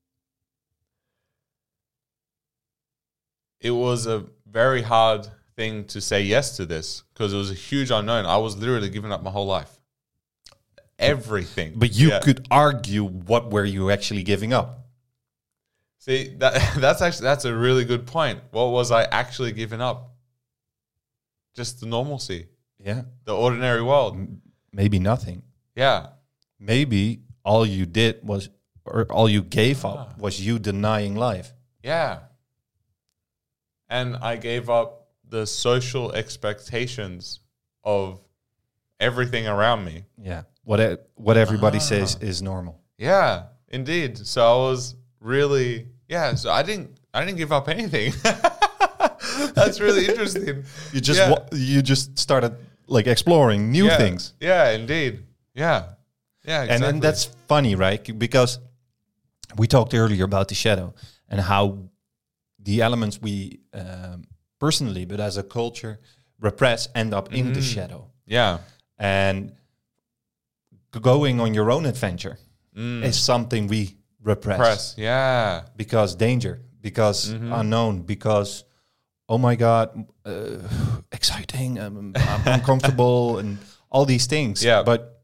it was a very hard thing to say yes to this because it was a huge unknown. I was literally giving up my whole life. Everything. But you Yeah. could argue what were you actually giving up? See, that that's actually that's a really good point. What was I actually giving up? Just the normalcy, Yeah. the ordinary world. Maybe nothing. Yeah. Maybe all you did was, or all you gave Ah. up was you denying life. Yeah. And I gave up the social expectations of everything around me. Yeah. What e- what everybody Ah. says is normal. Yeah, indeed. So I was really, yeah, so I didn't I didn't give up anything. That's really interesting. You just Yeah. wa- you just started like exploring new yeah. things. Yeah, indeed. Yeah. Yeah, exactly. And and that's funny, right? Because we talked earlier about the shadow and how the elements we um, personally, but as a culture, repress end up in the Mhm. shadow. yeah. And g- going on your own adventure Mm. is something we repress, Press. Yeah. because danger, because Mhm. unknown, because oh my god, uh, exciting, um, I'm uncomfortable, and all these things. Yeah. But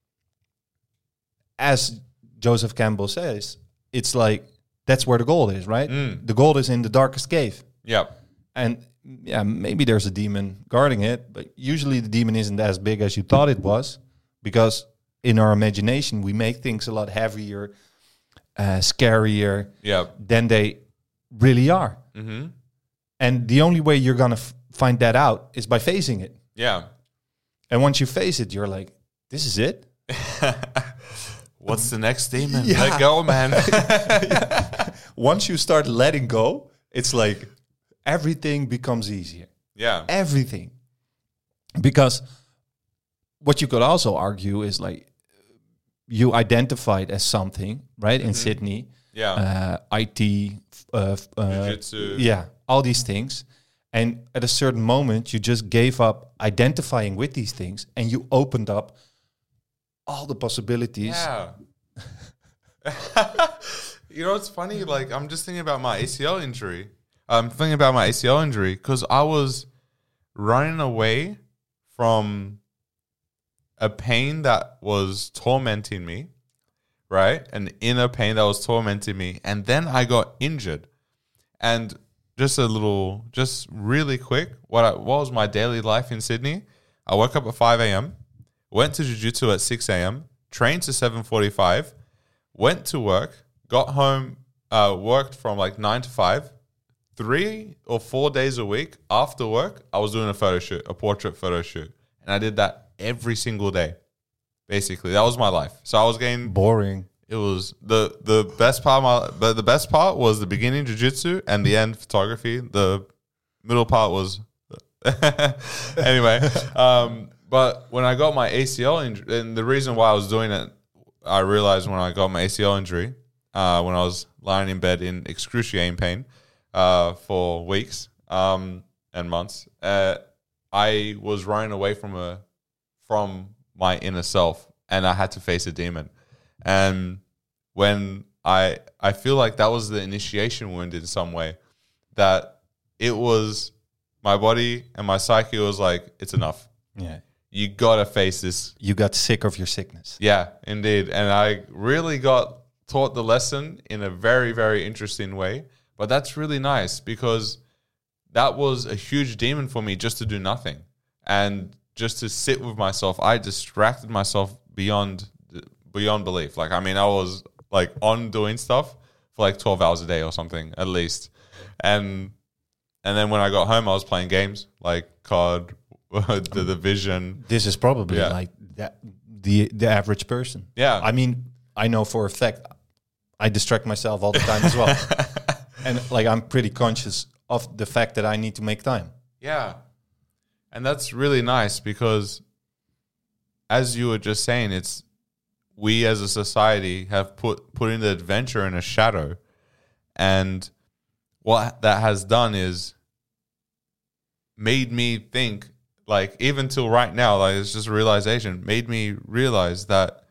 as Joseph Campbell says, it's like that's where the gold is, right? Mm. The gold is in the darkest cave, Yeah. and yeah, maybe there's a demon guarding it, but usually the demon isn't as big as you thought it was, because in our imagination we make things a lot heavier, uh, scarier Yeah. than they really are. Mm-hmm. And the only way you're gonna f- find that out is by facing it. Yeah. And once you face it, you're like, "This is it." What's the next demon? Yeah. Let go, man. Once you start letting go, it's like everything becomes easier. yeah. Everything, because what you could also argue is like you identified as something, right? In Sydney, Yeah. uh, I T, f- uh, f- uh, Jiu-jitsu. yeah, all these things. And at a certain moment, you just gave up identifying with these things, and you opened up all the possibilities. Yeah. You know what's funny? Like, I'm just thinking about my A C L injury. I'm thinking about my A C L injury because I was running away from a pain that was tormenting me, right? An inner pain that was tormenting me. And then I got injured. And just a little, just really quick, what, I, what was my daily life in Sydney? I woke up at five a.m., went to jiu-jitsu at six a.m., trained to seven forty-five, went to work, got home, uh, worked from like nine to five, three or four days a week after work, I was doing a photo shoot, a portrait photo shoot. And I did that every single day, basically. That was my life. So I was getting, Boring. it was the the best part. Of my, but the best part was the beginning jiu-jitsu and the end photography. The middle part was anyway. Um, but when I got my A C L injury, and the reason why I was doing it, I realized when I got my A C L injury, uh, when I was lying in bed in excruciating pain uh, for weeks um, and months, uh, I was running away from a from my inner self, and I had to face a demon. And when I I feel like that was the initiation wound in some way, that it was my body and my psyche was like, it's enough. Yeah. You gotta face this. You got sick of your sickness. Yeah, indeed. And I really got taught the lesson in a very, very interesting way. But that's really nice, because that was a huge demon for me, just to do nothing and just to sit with myself. I distracted myself beyond beyond belief. Like, I mean, I was like on doing stuff for like twelve hours a day or something at least. And and then when I got home, I was playing games like C O D, the Division. This is probably Yeah. like that, the the average person. Yeah. I mean, I know for a fact I distract myself all the time as well. And like, I'm pretty conscious of the fact that I need to make time. Yeah. And that's really nice, because as you were just saying, it's we as a society have put put in the adventure in a shadow. And what that has done is made me think, like, even till right now, like, it's just a realization, made me realize that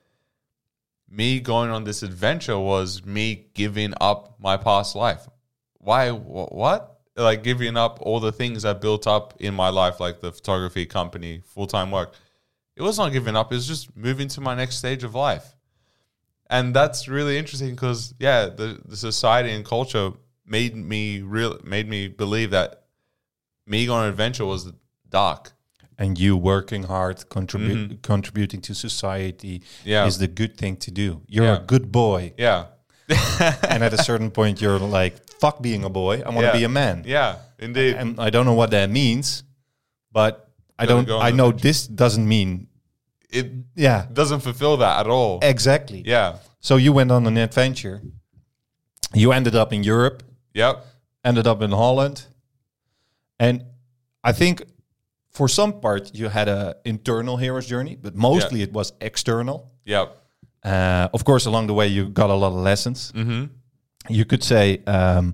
me going on this adventure was me giving up my past life. Why? Wh- what? Like, giving up all the things I built up in my life, like the photography company, full-time work. It was not giving up. It was just moving to my next stage of life. And that's really interesting, because, yeah, the, the society and culture made me real, made me believe that me going on an adventure was dark. And you working hard, contribu- Mhm. contributing to society Yeah. is the good thing to do. You're Yeah. a good boy. Yeah. And at a certain point, you're like, fuck being a boy. I want to Yeah. be a man. Yeah, indeed. And I don't know what that means, but I Gotta don't. go on I the know adventure. this doesn't mean. It Yeah, doesn't fulfill that at all. exactly. Yeah. So you went on an adventure. You ended up in Europe, Yep. ended up in Holland, and I think for some part you had a internal hero's journey, but mostly it was external. Yep. Uh, of course, along the way you got a lot of lessons. Mm-hmm. You could say um,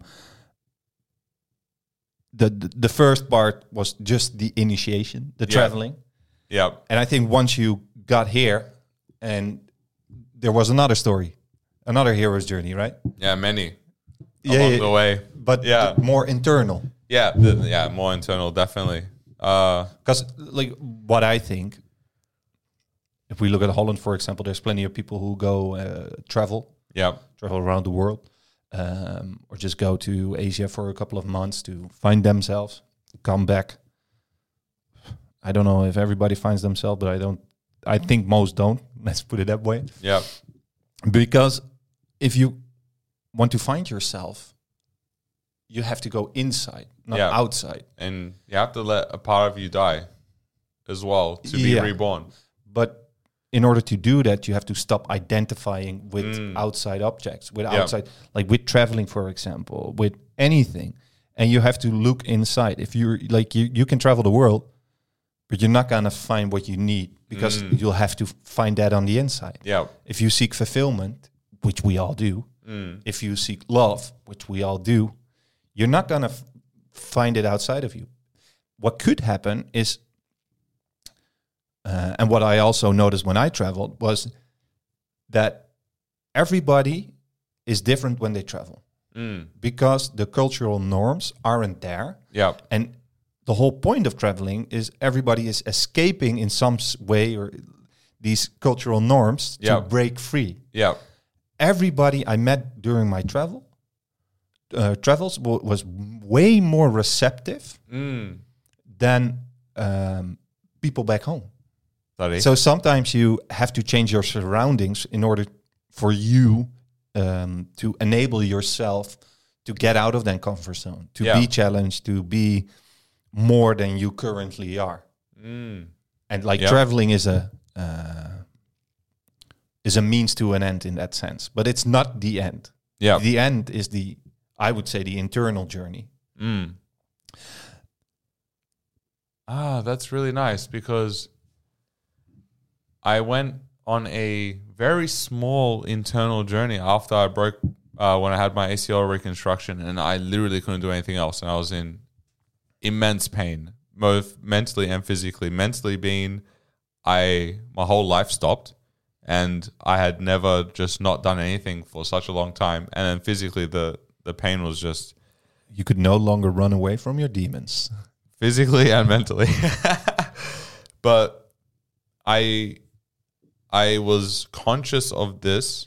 the, the the first part was just the initiation, the Yeah. traveling. Yep. And I think once you got here, and there was another story, another hero's journey, right? Yeah, many Yeah, along yeah. the way. But Yeah. th- more internal. Yeah, the, yeah, more internal, definitely. Uh, Because, like, what I think, if we look at Holland, for example, there's plenty of people who go uh, travel, yep. travel around the world, um, or just go to Asia for a couple of months to find themselves, come back. I don't know if everybody finds themselves, but I don't. I think most don't. Let's put it that way. Yep. Because if you want to find yourself, you have to go inside, not Yeah. outside. And you have to let a part of you die as well to be Yeah. reborn. But in order to do that, you have to stop identifying with Mm. outside objects, with Yeah. outside, like with traveling, for example, with anything. And you have to look inside. If you're like, you, you can travel the world, but you're not going to find what you need, because Mm. you'll have to find that on the inside. Yep. If you seek fulfillment, which we all do, Mm. if you seek love, which we all do, you're not going to f- find it outside of you. What could happen is, uh, and what I also noticed when I traveled, was that everybody is different when they travel, Mm. because the cultural norms aren't there. Yep. And the whole point of traveling is everybody is escaping in some s- way, or these cultural norms, to Yep. break free. Yep. Everybody I met during my travel uh, travels w- was way more receptive Mm. than um, people back home. Sorry. So sometimes you have to change your surroundings in order for you um, to enable yourself to get out of that comfort zone, to Yeah. be challenged, to be more than you currently are. Mm. And like Yeah. traveling is a uh, is a means to an end in that sense, but it's not the end. Yeah. The end is the, I would say, the internal journey. Mm. Ah, that's really nice because I went on a very small internal journey after I broke, uh, when I had my A C L reconstruction, and I literally couldn't do anything else. And I was in immense pain, both mentally and physically. Mentally being, I, my whole life stopped and I had never just not done anything for such a long time. And then physically the, the pain was just, You could no longer run away from your demons. physically and mentally. But I I was conscious of this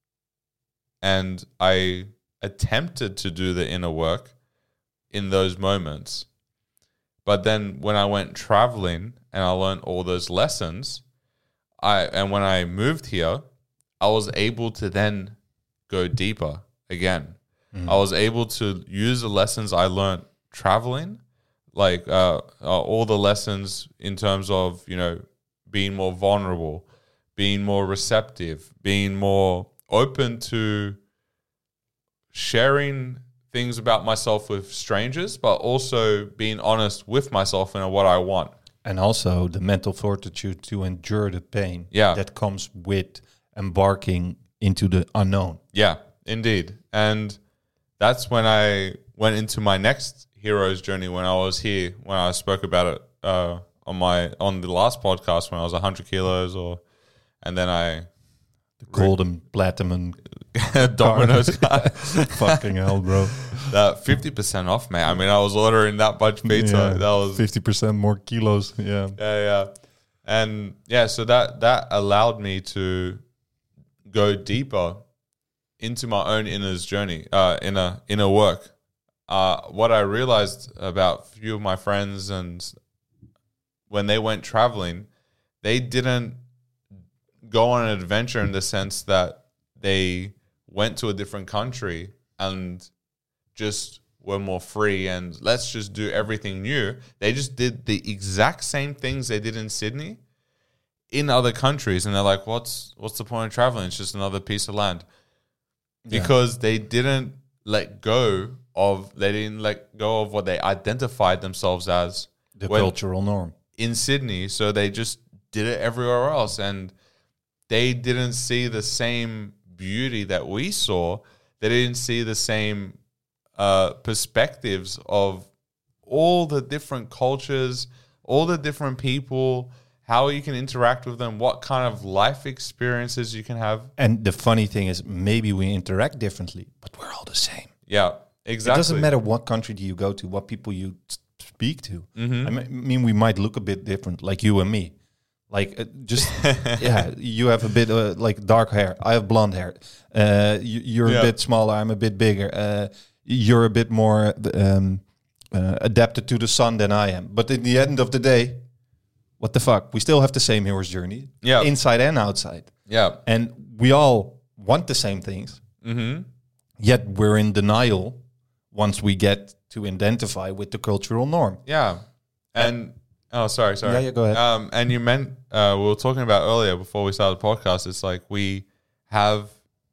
and I attempted to do the inner work in those moments. But then when I went traveling and I learned all those lessons, I and when I moved here, I was able to then go deeper again. Mm. I was able to use the lessons I learned traveling, like uh, uh, all the lessons in terms of, you know, being more vulnerable, being more receptive, being more open to sharing things about myself with strangers, but also being honest with myself and what I want. And also the mental fortitude to endure the pain Yeah. that comes with embarking into the unknown. Yeah, indeed. And that's when I went into my next hero's journey when I was here, when I spoke about it uh, on my on the last podcast when I was one hundred kilos, or and then I The golden platinum Domino's card. fucking hell, bro. That fifty percent off, man. I mean, I was ordering that much pizza. Yeah, that was fifty percent more kilos. Yeah. Yeah, yeah. And yeah, so that that allowed me to go deeper into my own inner's journey, uh, inner inner work. Uh, what I realized about a few of my friends, and when they went traveling, they didn't go on an adventure in the sense that they went to a different country and just were more free and let's just do everything new. They just did the exact same things they did in Sydney in other countries, and they're like, what's what's the point of traveling? It's just another piece of land. Yeah. Because they didn't let go of they didn't let go of what they identified themselves as The when- cultural norm. in Sydney, so they just did it everywhere else, and they didn't see the same beauty that we saw. They didn't see the same uh, perspectives of all the different cultures, all the different people, how you can interact with them, what kind of life experiences you can have. And the funny thing is, maybe we interact differently, but we're all the same. Yeah, exactly. It doesn't matter what country do you go to, what people you s- speak to. Mm-hmm. I me- mean, we might look a bit different, like you and me. Like, uh, just, yeah, you have a bit uh, like dark hair. I have blonde hair. Uh, you, you're Yeah. a bit smaller. I'm a bit bigger. Uh, you're a bit more um, uh, adapted to the sun than I am. But in the end of the day, what the fuck? We still have the same hero's journey, Yeah. inside and outside. Yeah. And we all want the same things. Mm-hmm. Yet we're in denial once we get to identify with the cultural norm. Yeah. And oh, sorry, sorry. Yeah, yeah, go ahead. Um, and you meant uh, we were talking about earlier before we started the podcast. It's like we have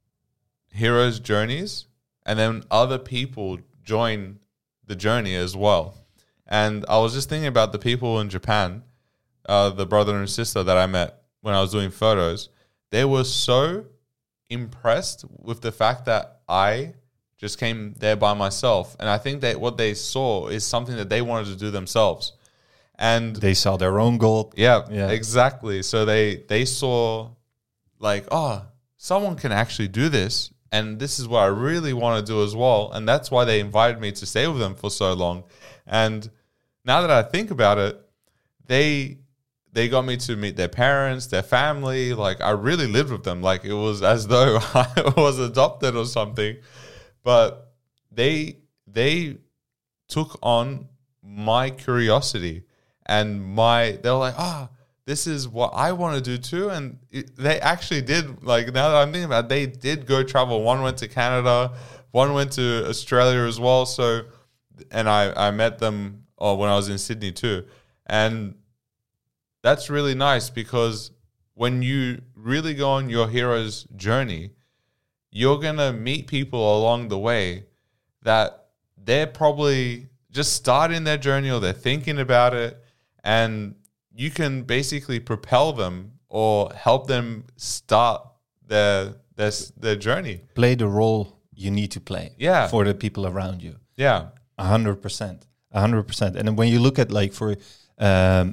heroes' journeys, and then other people join the journey as well. And I was just thinking about the people in Japan, uh, the brother and sister that I met when I was doing photos. They were so impressed with the fact that I just came there by myself, and I think that what they saw is something that they wanted to do themselves. And They saw their own goal. yeah, Yeah. exactly. So they they saw like, oh, someone can actually do this, and this is what I really want to do as well. And that's why they invited me to stay with them for so long. And now that I think about it, they they got me to meet their parents, their family. Like, I really lived with them. Like, it was as though I was adopted or something. But they they took on my curiosity and my they were like, ah, oh, this is what I want to do too. And it, they actually did. Like, now that I'm thinking about it, they did go travel. One went to Canada, one went to Australia as well. So, and I, I met them oh, when I was in Sydney too. And that's really nice because when you really go on your hero's journey, you're going to meet people along the way that they're probably just starting their journey or they're thinking about it, and you can basically propel them or help them start their their, their journey. Play the role you need to play Yeah. for the people around you. Yeah. A hundred percent. A hundred percent. And then when you look at like for, um,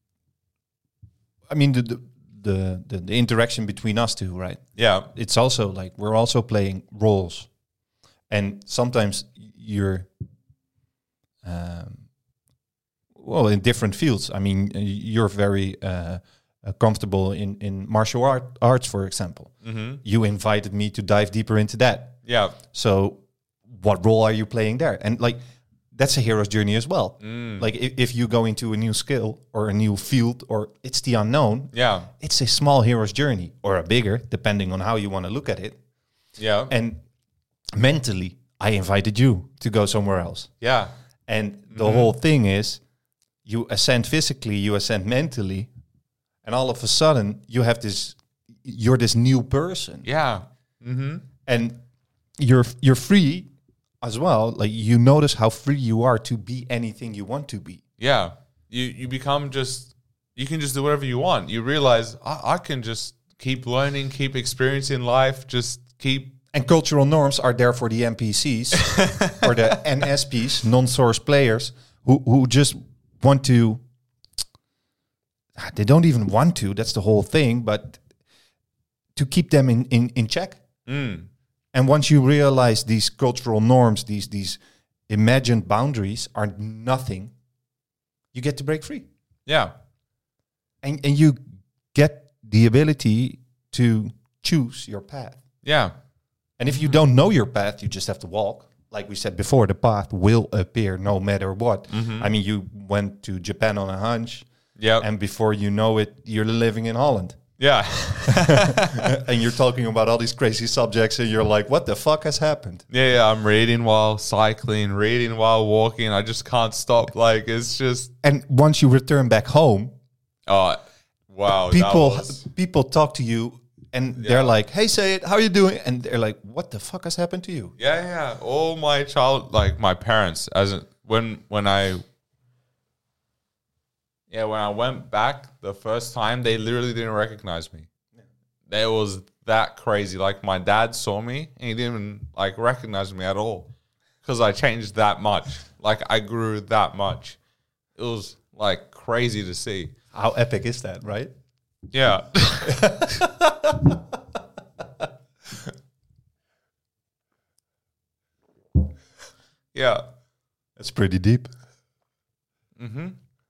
I mean, the, the, the, the, the interaction between us two, right? Yeah. It's also like, we're also playing roles. And sometimes you're, um, well, in different fields. I mean, you're very uh, uh, comfortable in, in martial art, arts, for example. Mm-hmm. You invited me to dive deeper into that. Yeah. So what role are you playing there? And like, that's a hero's journey as well. Mm. Like if, if you go into a new skill or a new field or it's the unknown, Yeah. it's a small hero's journey or a bigger, depending on how you want to look at it. Yeah. And mentally, I invited you to go somewhere else. Yeah. And the Mm-hmm. whole thing is you ascend physically, you ascend mentally, and all of a sudden you have this, you're this new person. Yeah. Mm-hmm. And you're you're free as well. Like you notice how free you are to be anything you want to be. Yeah. You you become just, you can just do whatever you want. You realize I, I can just keep learning, keep experiencing life, just keep. And cultural norms are there for the N P Cs or the N S Ps, non-source players, who who just want to. They don't even want to. That's the whole thing. But to keep them in in, in check. Mm. And once you realize these cultural norms, these these imagined boundaries are nothing, you get to break free. Yeah. And and you get the ability to choose your path. Yeah. And if you don't know your path, you just have to walk. Like we said before, the path will appear no matter what. Mm-hmm. I mean, you went to Japan on a hunch, Yeah. and before you know it, you're living in Holland. Yeah. And you're talking about all these crazy subjects, and you're like, what the fuck has happened? Yeah, yeah. I'm reading while cycling, reading while walking. I just can't stop. Like, it's just, And once you return back home, oh, wow. that people was- people talk to you, and Yeah. they're like, hey, say it, how you doing? And they're like, what the fuck has happened to you? Yeah, yeah. All my child, like my parents, as in, when when I, yeah, when I went back the first time, they literally didn't recognize me. Yeah. It was that crazy. Like my dad saw me and he didn't even like recognize me at all because I changed that much. Like I grew that much. It was like crazy to see. How epic is that, right? Yeah. Yeah. That's pretty deep. Mm-hmm.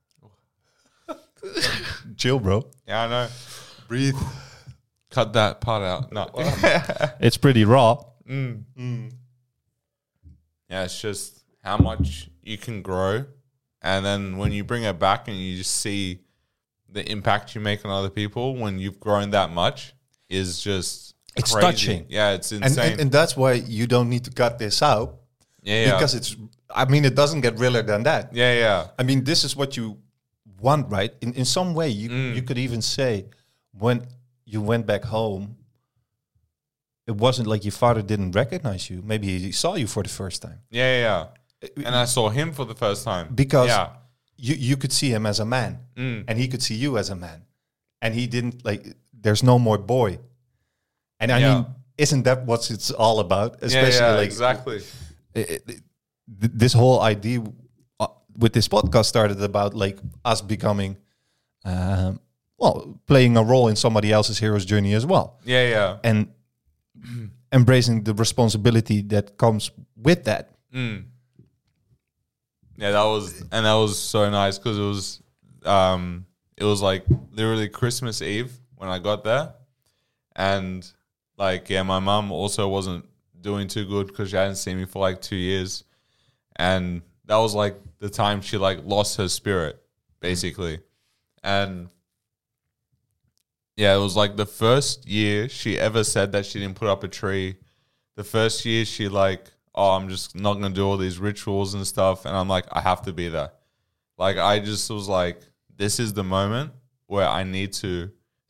Chill, bro. Yeah, I know. Breathe. Cut that part out. No. It's pretty raw. mm. Mm. Yeah, it's just how much you can grow. And then when you bring it back and you just see the impact you make on other people when you've grown that much is just It's crazy. touching. Yeah, it's And, insane. and and that's why you don't need to cut this out. yeah, yeah. Because it's, I mean, it doesn't get realer than that. yeah, yeah. I mean, this is what you want, right? In in some way, you Mm. you could even say when you went back home, it wasn't like your father didn't recognize you. Maybe he saw you for the first time. Yeah, yeah, yeah. And I saw him for the first time. Because yeah. you, you could see him as a man, Mm. and he could see you as a man. And he didn't, like, there's no more boy. And I Yeah. mean, isn't that what it's all about? Yeah, Especially yeah, like exactly. it- it- th- this whole idea uh, with this podcast started about like us becoming, um, well, playing a role in somebody else's hero's journey as well, Yeah, yeah. and embracing the responsibility that comes with that. Mm. Yeah, that was, and that was so nice because it was, um, it was like literally Christmas Eve when I got there, and like yeah, my mum also wasn't doing too good because she hadn't seen me for like two years, and that was like the time she like lost her spirit basically, and yeah, it was like the first year she ever said that she didn't put up a tree. The first year she like, oh, I'm just not going to do all these rituals and stuff. And I'm like, I have to be there. Like, I just was like, this is the moment where I need to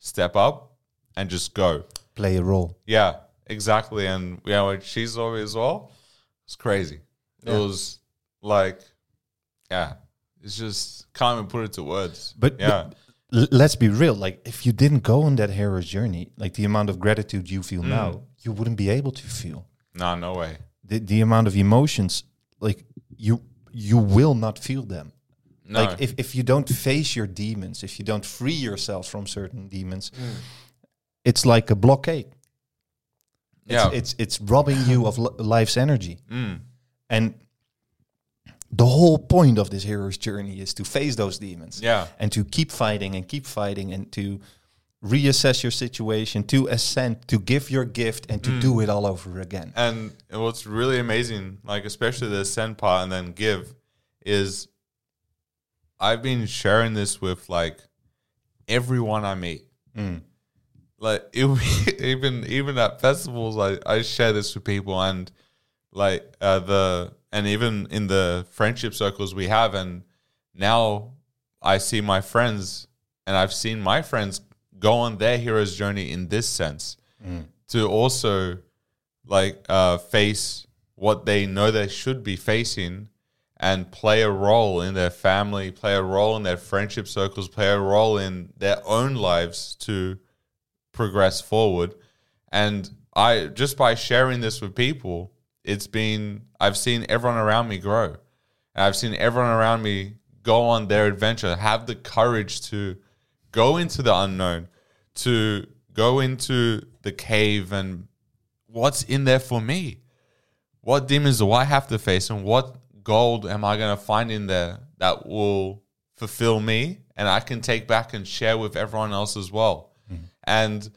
step up and just go. Play a role. Yeah, exactly. And yeah, with Shizoe as well, it's crazy. It Yeah. was like, yeah, it's just can't even put it to words. But, yeah, but l- let's be real. Like, if you didn't go on that hero's journey, like the amount of gratitude you feel Mm. now, you wouldn't be able to feel. nah, no way. The, the amount of emotions, like, you you will not feel them. No. Like, if, if you don't face your demons, if you don't free yourself from certain demons, it's like a blockade. It's, yeah, it's it's robbing you of li- life's energy. mm. And the whole point of this hero's journey is to face those demons. yeah, And to keep fighting and keep fighting and to reassess your situation, to ascend, to give your gift and to Mm. do it all over again. And what's really amazing, like especially the send part and then give, is I've been sharing this with like everyone I meet. Mm. Like it, even even at festivals, I, I share this with people, and like uh, the and even in the friendship circles we have, and now I see my friends, and I've seen my friends go on their hero's journey in this sense Mm. to also like uh, face what they know they should be facing and play a role in their family, play a role in their friendship circles, play a role in their own lives to progress forward. And I just by sharing this with people, it's been I've seen everyone around me grow. And I've seen everyone around me go on their adventure, have the courage to go into the unknown, to go into the cave and what's in there for me? What demons do I have to face, and what gold am I going to find in there that will fulfill me and I can take back and share with everyone else as well? Mm-hmm. And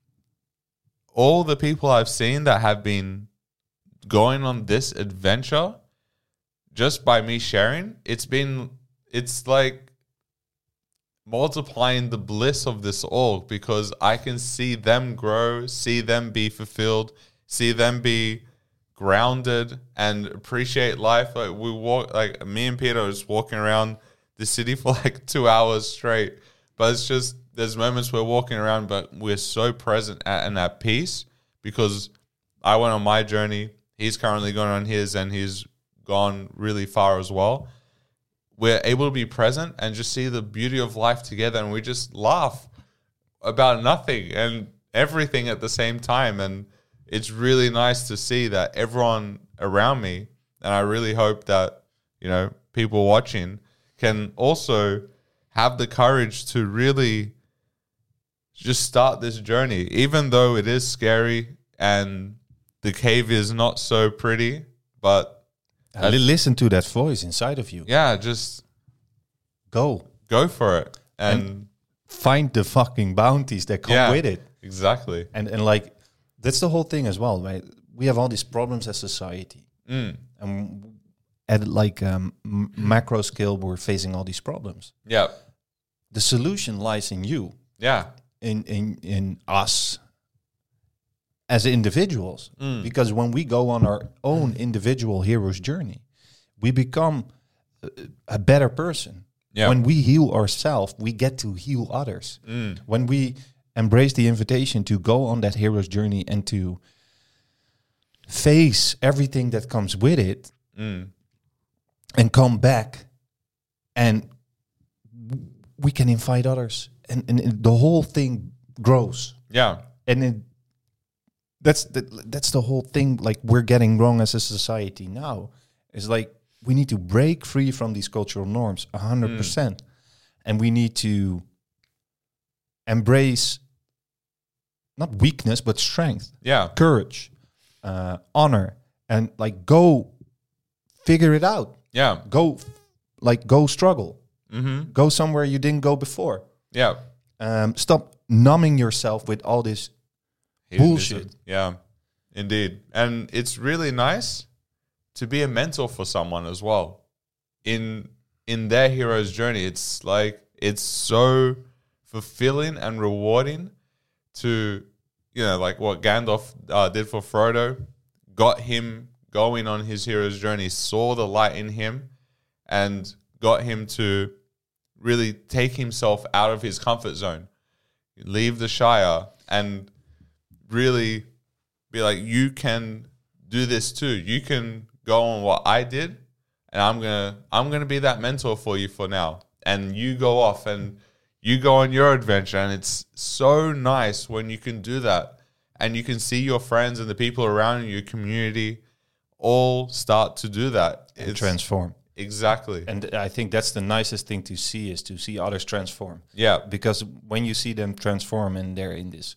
all the people I've seen that have been going on this adventure, just by me sharing, it's been, it's like multiplying the bliss of this all, because I can see them grow, see them be fulfilled, see them be grounded and appreciate life. Like we walk, like me and Peter are just walking around the city for like two hours straight, but it's just, there's moments we're walking around, but we're so present at, and at peace, because I went on my journey. He's currently going on his, and he's gone really far as well. We're able to be present and just see the beauty of life together, and we just laugh about nothing and everything at the same time. And it's really nice to see that everyone around me, and I really hope that, you know, people watching can also have the courage to really just start this journey, even though it is scary and the cave is not so pretty, but Uh, listen to that voice inside of you. yeah, just Go. go for it and, And find the fucking bounties that come yeah, with it. exactly. And and like, that's the whole thing as well, right? We have all these problems as society. Mm. And at like um, m- macro scale, we're facing all these problems. Yeah, The solution lies in you, yeah, in in in us as individuals. Mm. Because when we go on our own individual hero's journey, we become a, a better person. yeah, When we heal ourselves, we get to heal others. mm. When we embrace the invitation to go on that hero's journey and to face everything that comes with it, Mm. and come back, and we can invite others, and, and the whole thing grows. yeah, And it, that's the, that's the whole thing. Like, we're getting wrong as a society now. It's like we need to break free from these cultural norms a hundred percent, and we need to embrace not weakness but strength, yeah, courage, uh, honor, and like go figure it out. yeah, Go, like go struggle. mm-hmm. Go somewhere you didn't go before. yeah. Um, stop numbing yourself with all this bullshit. Yeah, indeed. And it's really nice to be a mentor for someone as well in in their hero's journey. It's like, it's so fulfilling and rewarding to, you know, like what Gandalf uh, did for Frodo, got him going on his hero's journey, saw the light in him, and got him to really take himself out of his comfort zone. leave the Shire and really be like, you can do this too. You can go on what I did, and I'm gonna I'm gonna be that mentor for you for now. And you go off and you go on your adventure, and it's so nice when you can do that, and you can see your friends and the people around you, your community, all start to do that. And It's transform. exactly. And I think that's the nicest thing to see, is to see others transform. Yeah, Because when you see them transform and they're in this,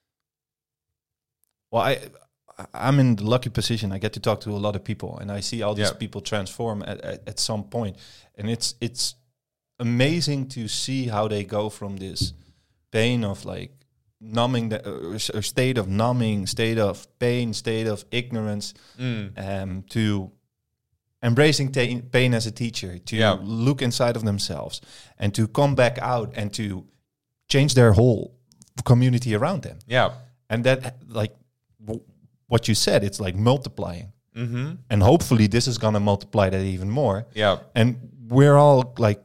well, I, I'm in the lucky position. I get to talk to a lot of people, and I see all these Yeah. people transform at, at, at some point, and it's it's amazing to see how they go from this pain of like numbing, the uh, s- uh, state of numbing, state of pain, state of ignorance, Mm. um, to embracing ta- pain as a teacher, to Yeah. look inside of themselves, and to come back out and to change their whole community around them. yeah. And that, like w- what you said, it's like multiplying. Mm-hmm. And hopefully this is going to multiply that even more. Yeah, And we're all like,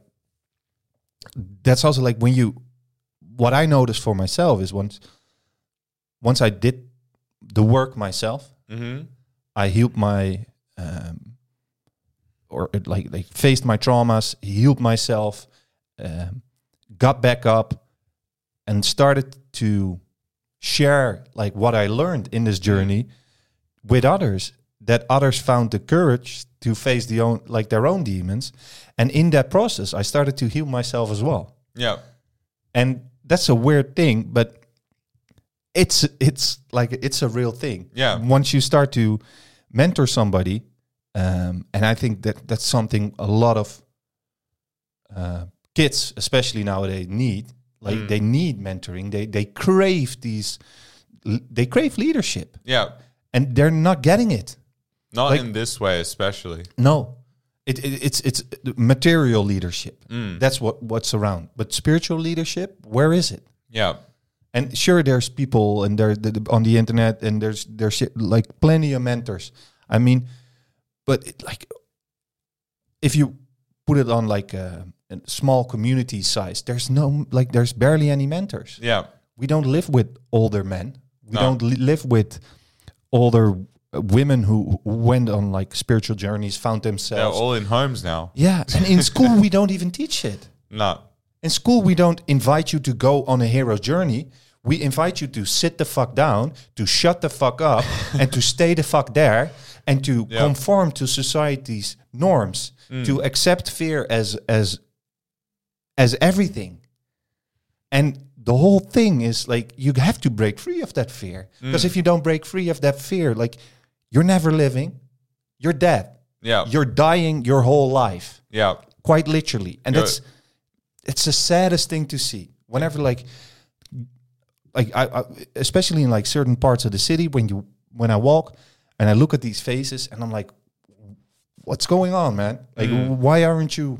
that's also like when you, what I noticed for myself is once, once I did the work myself, mm-hmm. I healed my, um, or it like, like faced my traumas, healed myself, um, got back up, and started to share like what I learned in this journey with others. That others found the courage to face the own like their own demons, and in that process, I started to heal myself as well. Yeah, And that's a weird thing, but it's it's like it's a real thing. Yeah. Once you start to mentor somebody, um, and I think that that's something a lot of uh, kids, especially nowadays, need. Like Mm. they need mentoring. They they crave these. They crave leadership, yeah. and they're not getting it. Not Like- in this way, especially. No, it, it it's it's material leadership. Mm. That's what what's around. But spiritual leadership, where is it? Yeah, And sure, there's people and they're the, the- on the internet, and there's there's shit, like plenty of mentors. I mean, but it, like if you put it on like a, a small community size, there's no like there's barely any mentors. yeah, We don't live with older men. We No. don't li- live with older uh, women who, who went on like spiritual journeys, found they're themselves. all in homes now. Yeah, and in school we don't even teach it. No, In school, we don't invite you to go on a hero's journey. We invite you to sit the fuck down, to shut the fuck up, and to stay the fuck there, and to Yeah. conform to society's norms, to accept fear as as as everything. And the whole thing is like you have to break free of that fear. Because if you don't break free of that fear, like you're never living, you're dead. yeah, You're dying your whole life, yeah, quite literally. And You're- that's it's the saddest thing to see. Whenever like like I, I especially in like certain parts of the city, when you when I walk and I look at these faces and I'm like, what's going on, man? Like Mm. why aren't you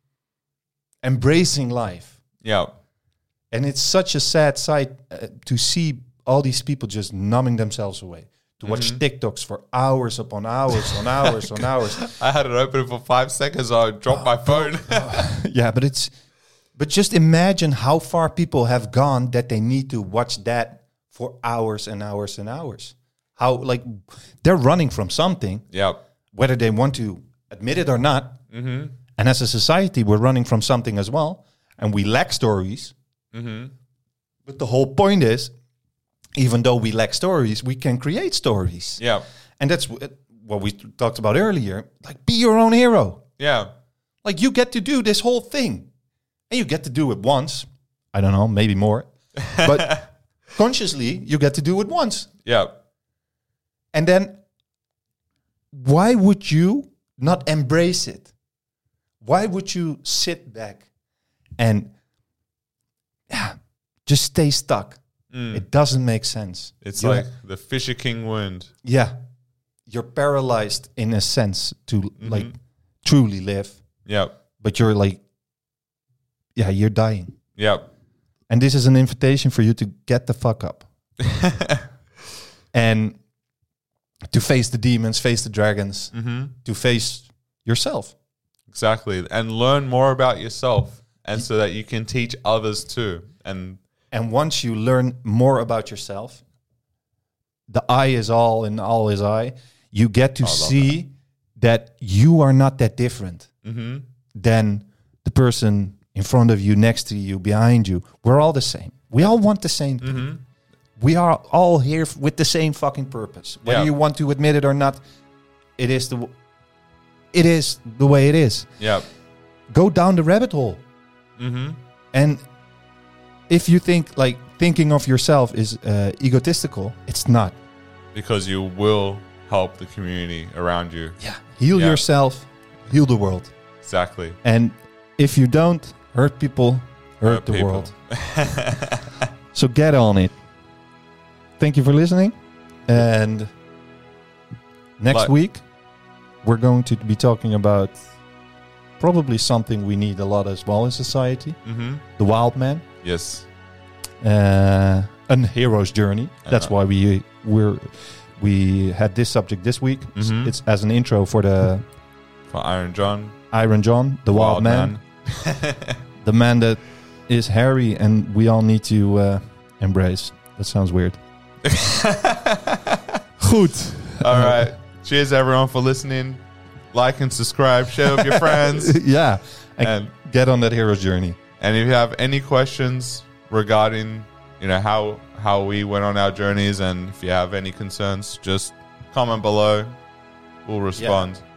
embracing life? yeah, And it's such a sad sight uh, to see all these people just numbing themselves away. To watch Mm-hmm. TikToks for hours upon hours on hours on hours. I had it open for five seconds. I dropped my phone. Yeah, but it's but just imagine how far people have gone that they need to watch that for hours and hours and hours. How like they're running from something, yeah, whether they want to admit it or not. mm-hmm. And as a society, we're running from something as well, and we lack stories. Mm-hmm. But the whole point is, even though we lack stories, we can create stories. yeah, And that's wh- what we talked about earlier. Like, be your own hero. yeah, Like, you get to do this whole thing. And you get to do it once. I don't know, maybe more. But consciously, you get to do it once. yeah, And then, why would you not embrace it? Why would you sit back and yeah, just stay stuck? Mm. It doesn't make sense. It's You're- like the Fisher King wound. yeah, you're paralyzed in a sense to Mm-hmm. like truly live, Yeah, but you're like, yeah, you're dying. yeah, And this is an invitation for you to get the fuck up and to face the demons, face the dragons, mm-hmm. to face yourself. Exactly, and learn more about yourself, and so that you can teach others too. And And once you learn more about yourself, the I is all and all is I, you get to see that. that you are not that different mm-hmm. than the person in front of you, next to you, behind you. We're all the same. We all want the same thing. Mm-hmm. We are all here f- with the same fucking purpose. Whether Yeah. you want to admit it or not, it is the w- it is the way it is. Yeah. Go down the rabbit hole. Mm-hmm. And if you think like thinking of yourself is uh, egotistical, it's not. Because you will help the community around you. Yeah. Heal Yeah. yourself, heal the world. Exactly. And if you don't hurt people, hurt, Hurt the people. world. So get on it. Thank you for listening. And next Like- week, we're going to be talking about probably something we need a lot as well in society. Mm-hmm. The wild man. Yes. Uh, an hero's journey. That's Uh-huh. why we we're we had this subject this week. It's- Mhm. It's as an intro for the For Iron John. Iron John, the wild, man. The man that is hairy and we all need to uh, embrace. That sounds weird. Goed. All right. Cheers, everyone, for listening. Like and subscribe. Share with your friends. Yeah. And, And get on that hero's journey. and if you have any questions regarding, you know, how how we went on our journeys, and if you have any concerns, just comment below. We'll respond.